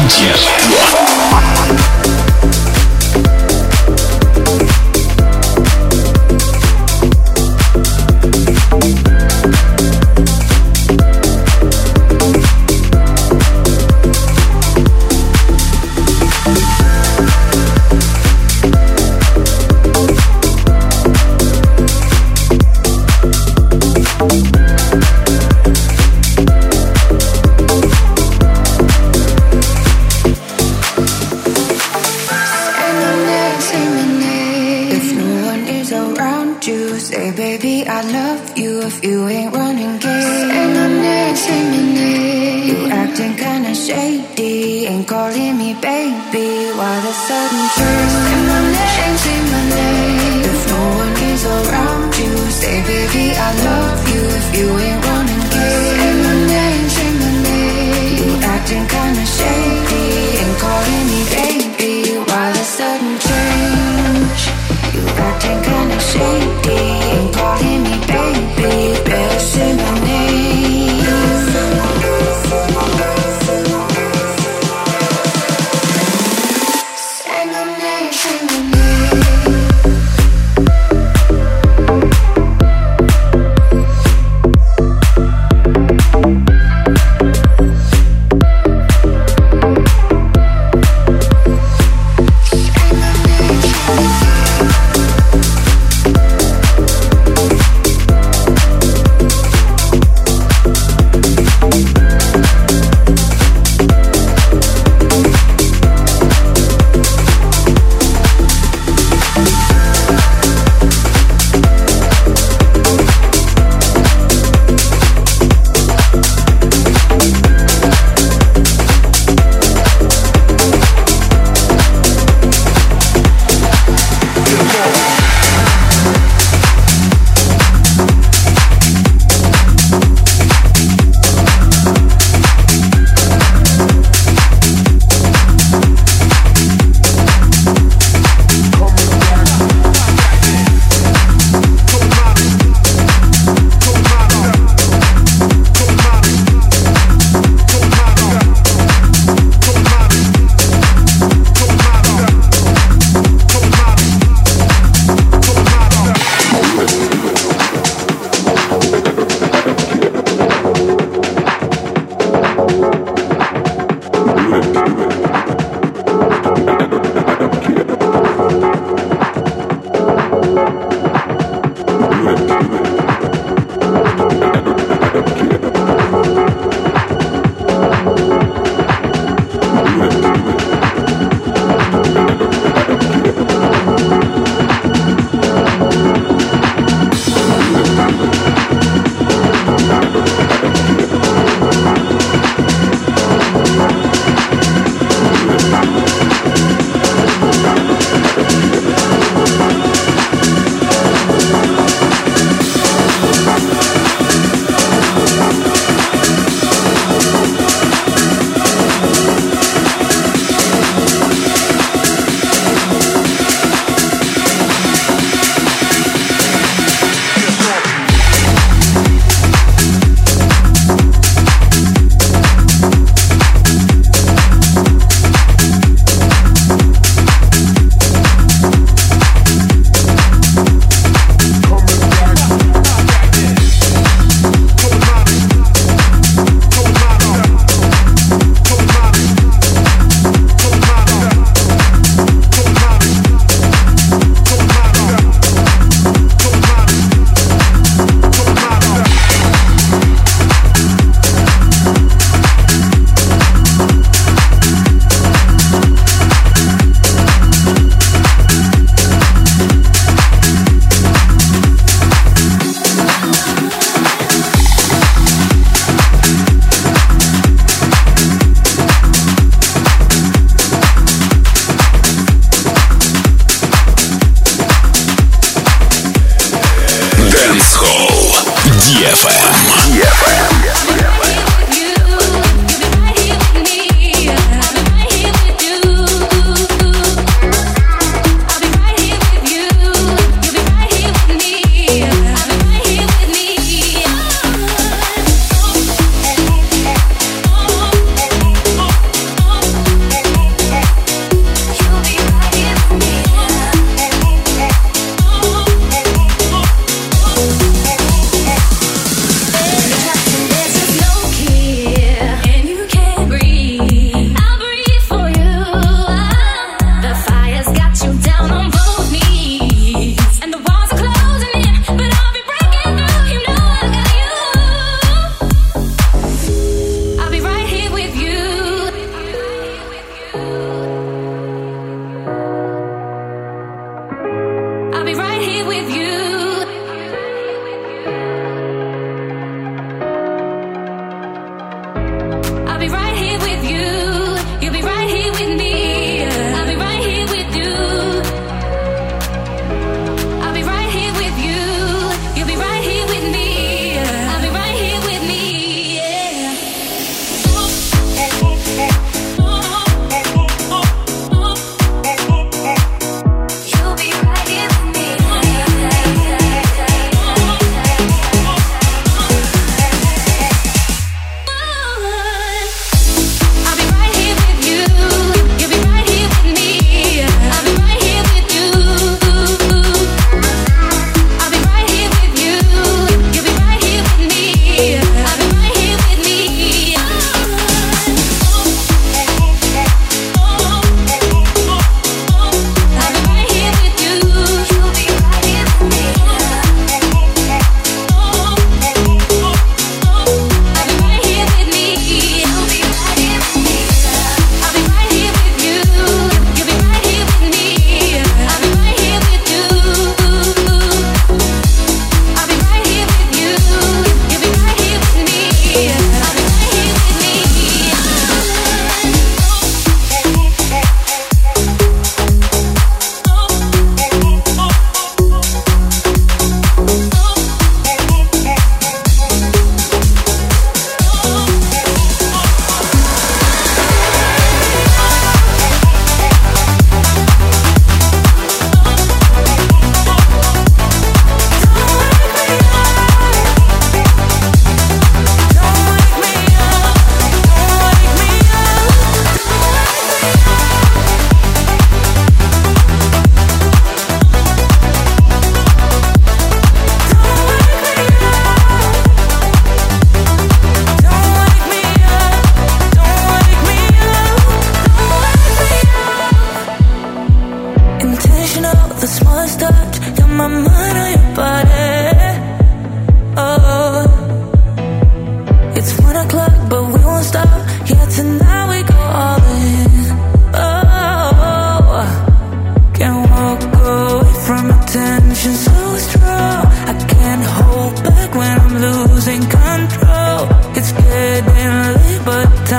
Детство.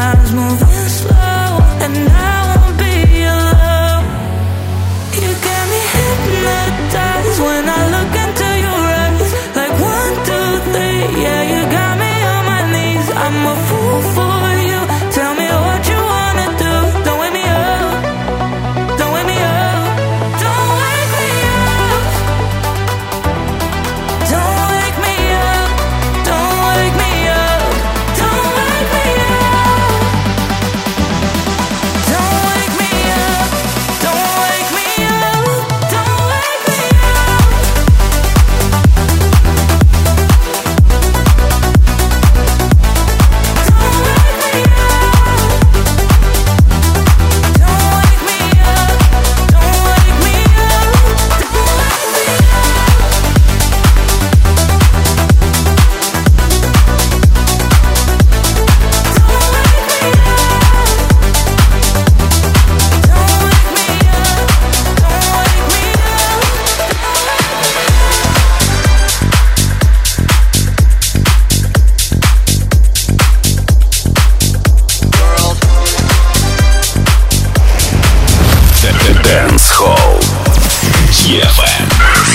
time's moving slow, and I won't be alone. You got me hypnotized when I look into your eyes. Like 1, 2, 3, yeah, you got me on my knees. I'm a fool for you. Tell me what you wanna do. Don't wake me up. Don't wake me up. Don't wake me up. Don't wake me up. Don't wake me up. Don't wake me up. Don't wake me up. Don't wake me up. Don't wake me up. Dance Hall. DFM.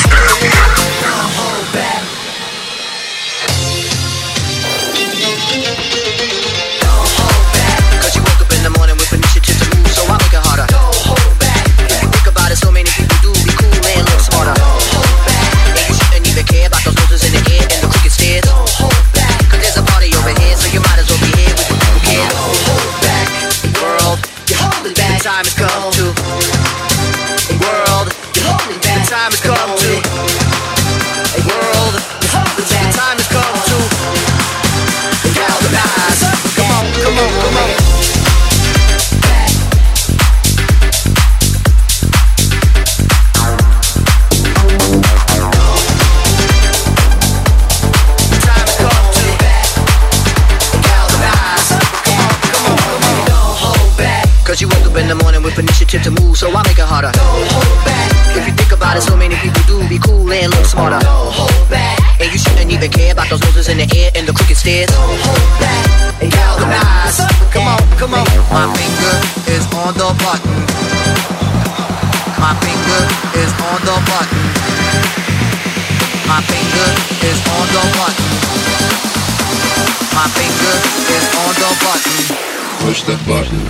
Cause you woke up in the morning with initiative to move, so I make it harder. Don't hold back. If you think about it, so many people do be cool and look smarter. Don't hold back. And you shouldn't even care about those noses in the air and the crooked stairs. Don't hold back. Cause there's a party over here, so you might as well be here with the people care. Don't hold back. World, you're holding back. The time has come to. World, you're holding back. The time has come to. World, you're holding back. The time has come to. Galvanize. Come on, come on, come on. Cause you woke up in the morning with initiative to move, so I make it harder. Don't hold back. If you think about it, so many people do be cool and look smarter. Don't hold back. And you shouldn't even care about those noses in the air and the crooked stairs. Don't hold back. And galvanize. Come on, come on. My finger is on the button. My finger is on the button. My finger is on the button. My finger is on the button. Push the button.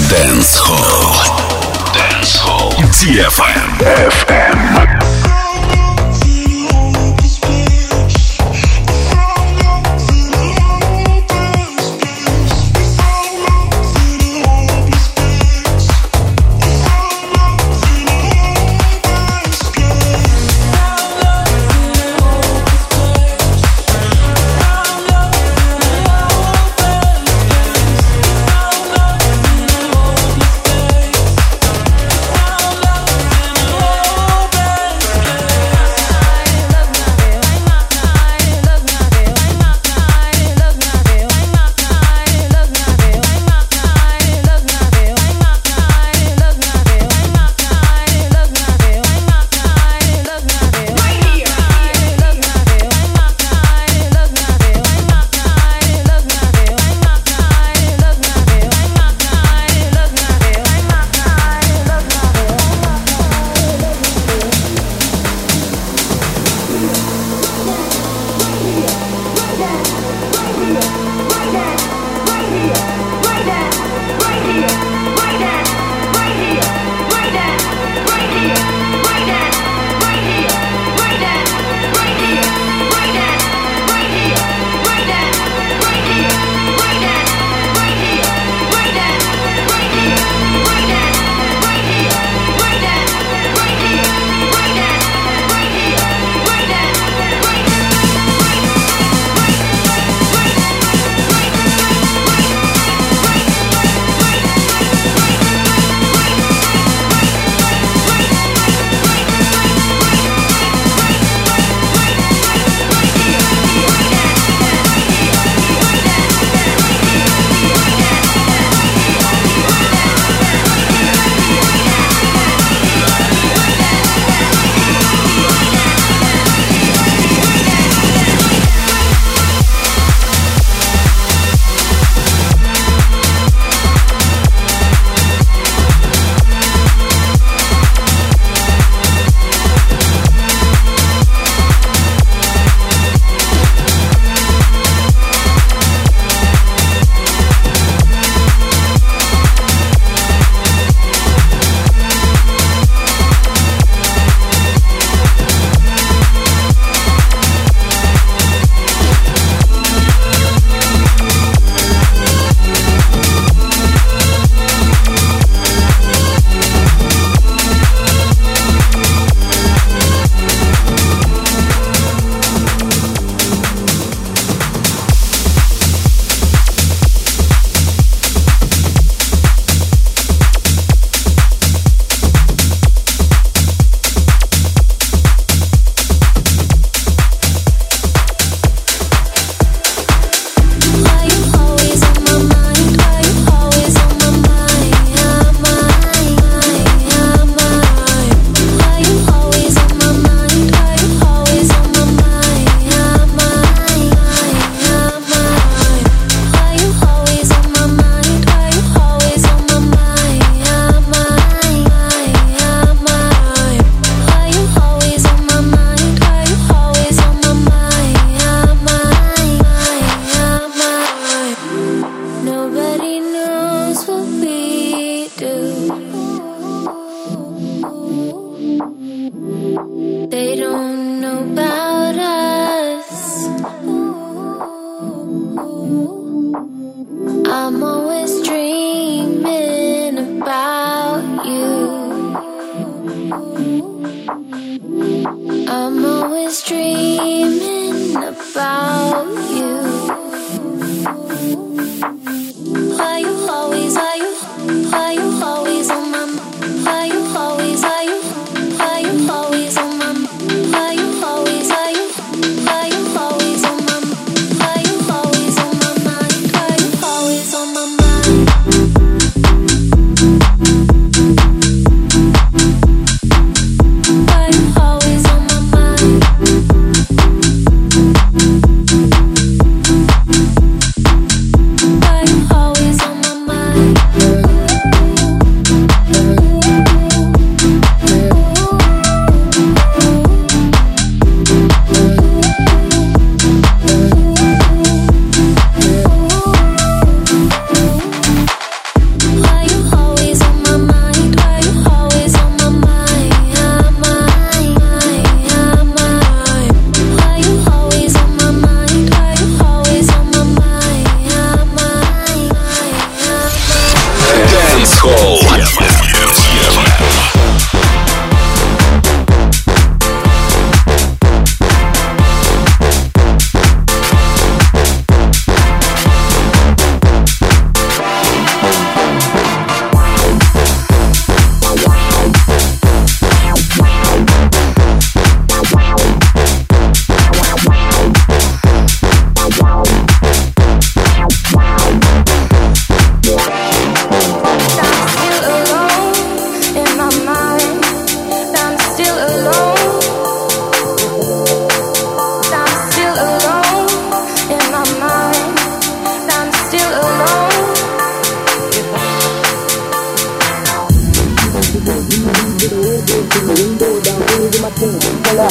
Dance Hall DFM. On my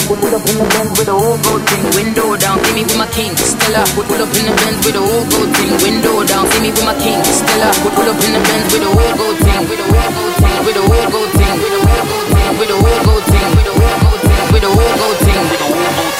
pull up in the Benz with the whole gold thing. Window down, see me with my king. Stella, pull up in the Benz with the whole gold thing. Window down, see me with my king. Stella, pull up in the Benz with the whole gold thing. With the whole gold thing, with the whole gold thing, with the whole gold thing, with the whole gold thing, with the whole gold thing, with the whole gold thing, with the whole gold thing.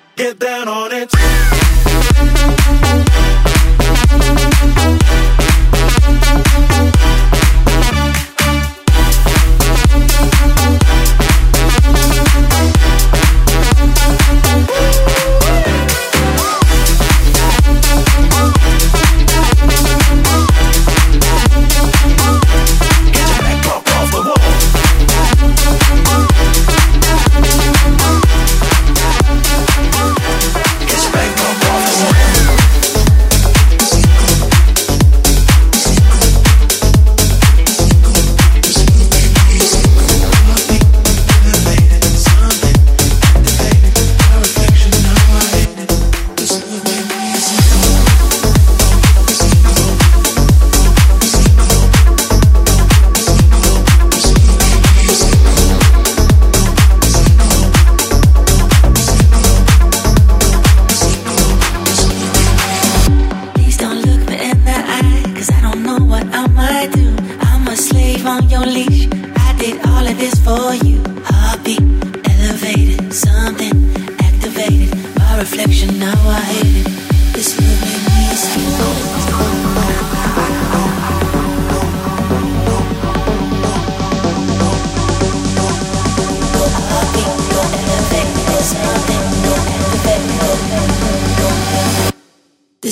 down on it.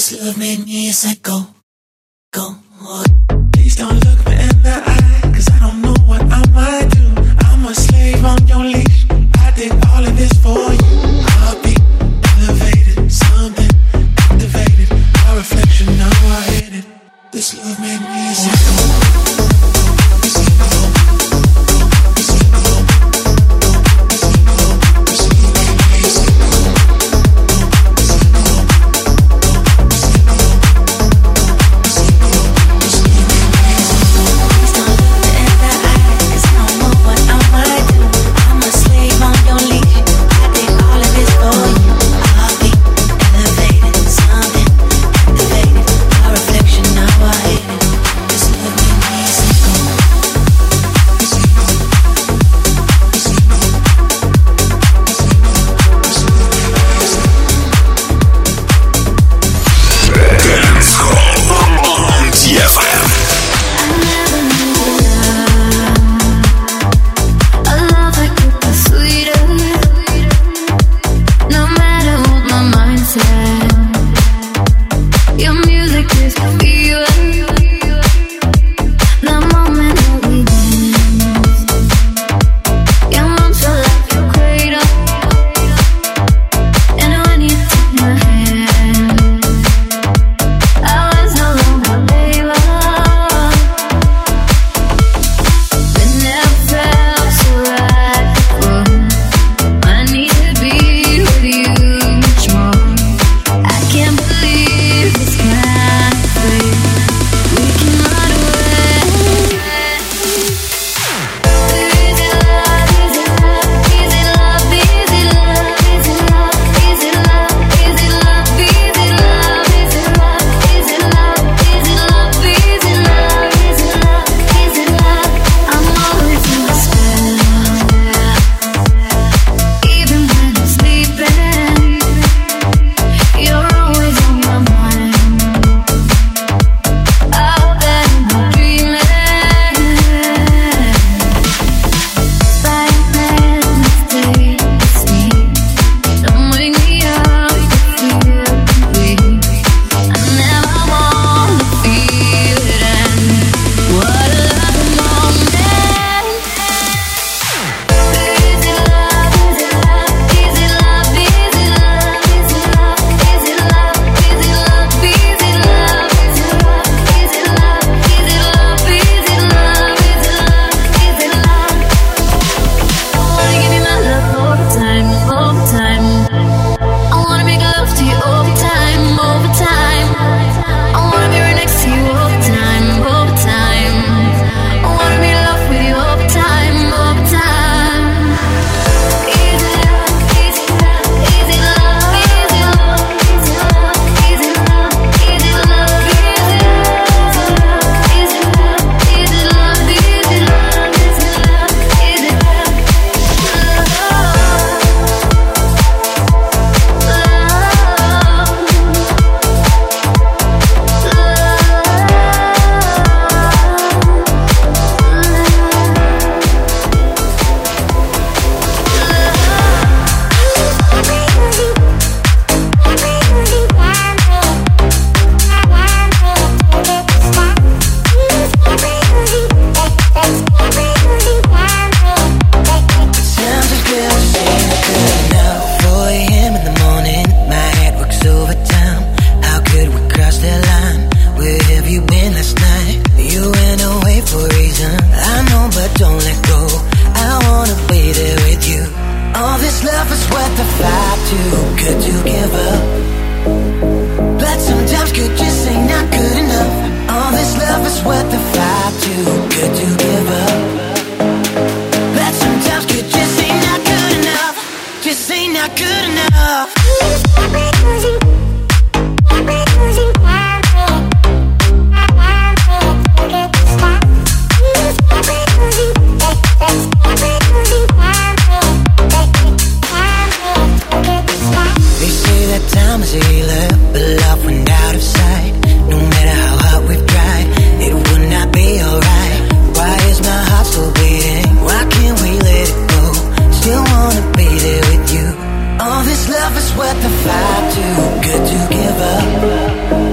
This love made me psycho. Go. Please don't look me in the eye, 'cause I don't know what I might do. I'm a slave on your leash. I did all of this for you. I'll be elevated, something activated. My reflection, now I hate it. This love made me psycho. Love is worth the fight, too good to give up.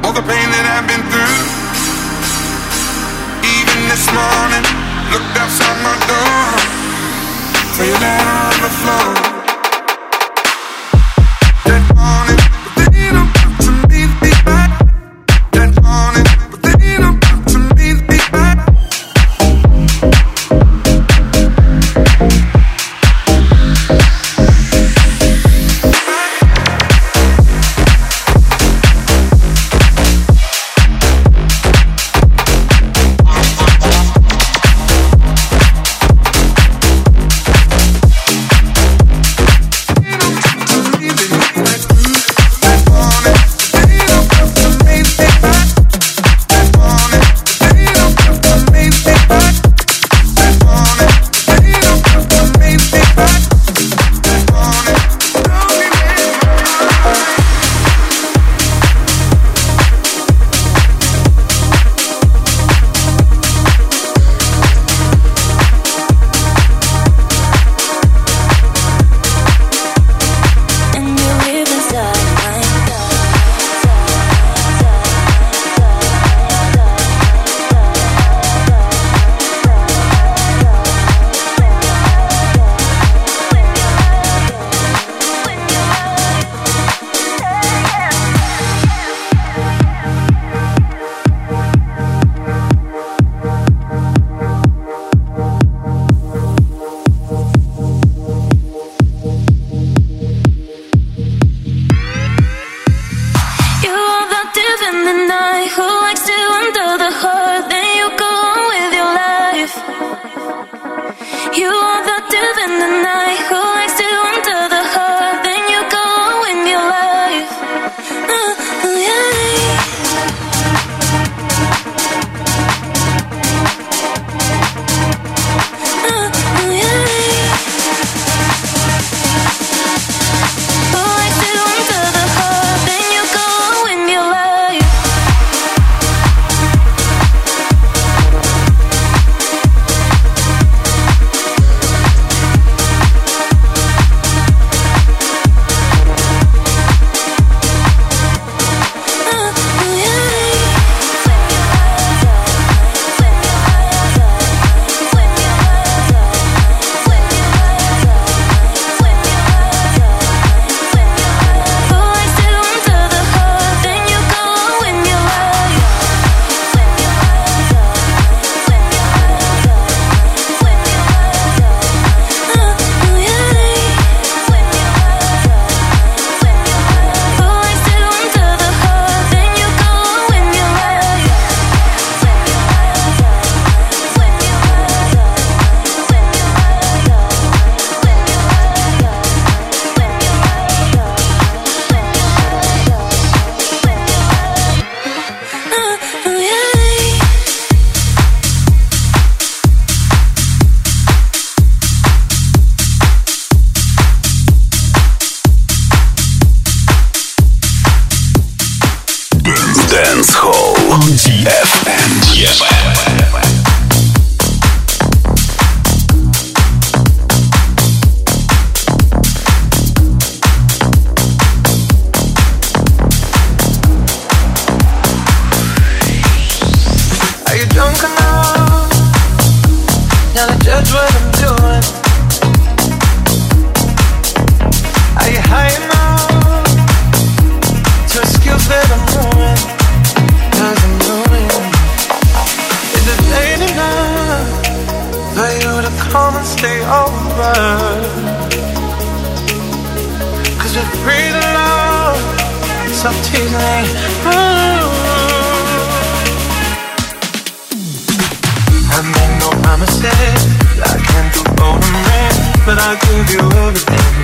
all the pain that I've been through. Even this morning, looked outside my door, saw your letter on the floor. That morning, but they don't come to meet me back. That morning, but they don't come to meet me back. I made no promises, I can't do all the man, but I'll give you everything.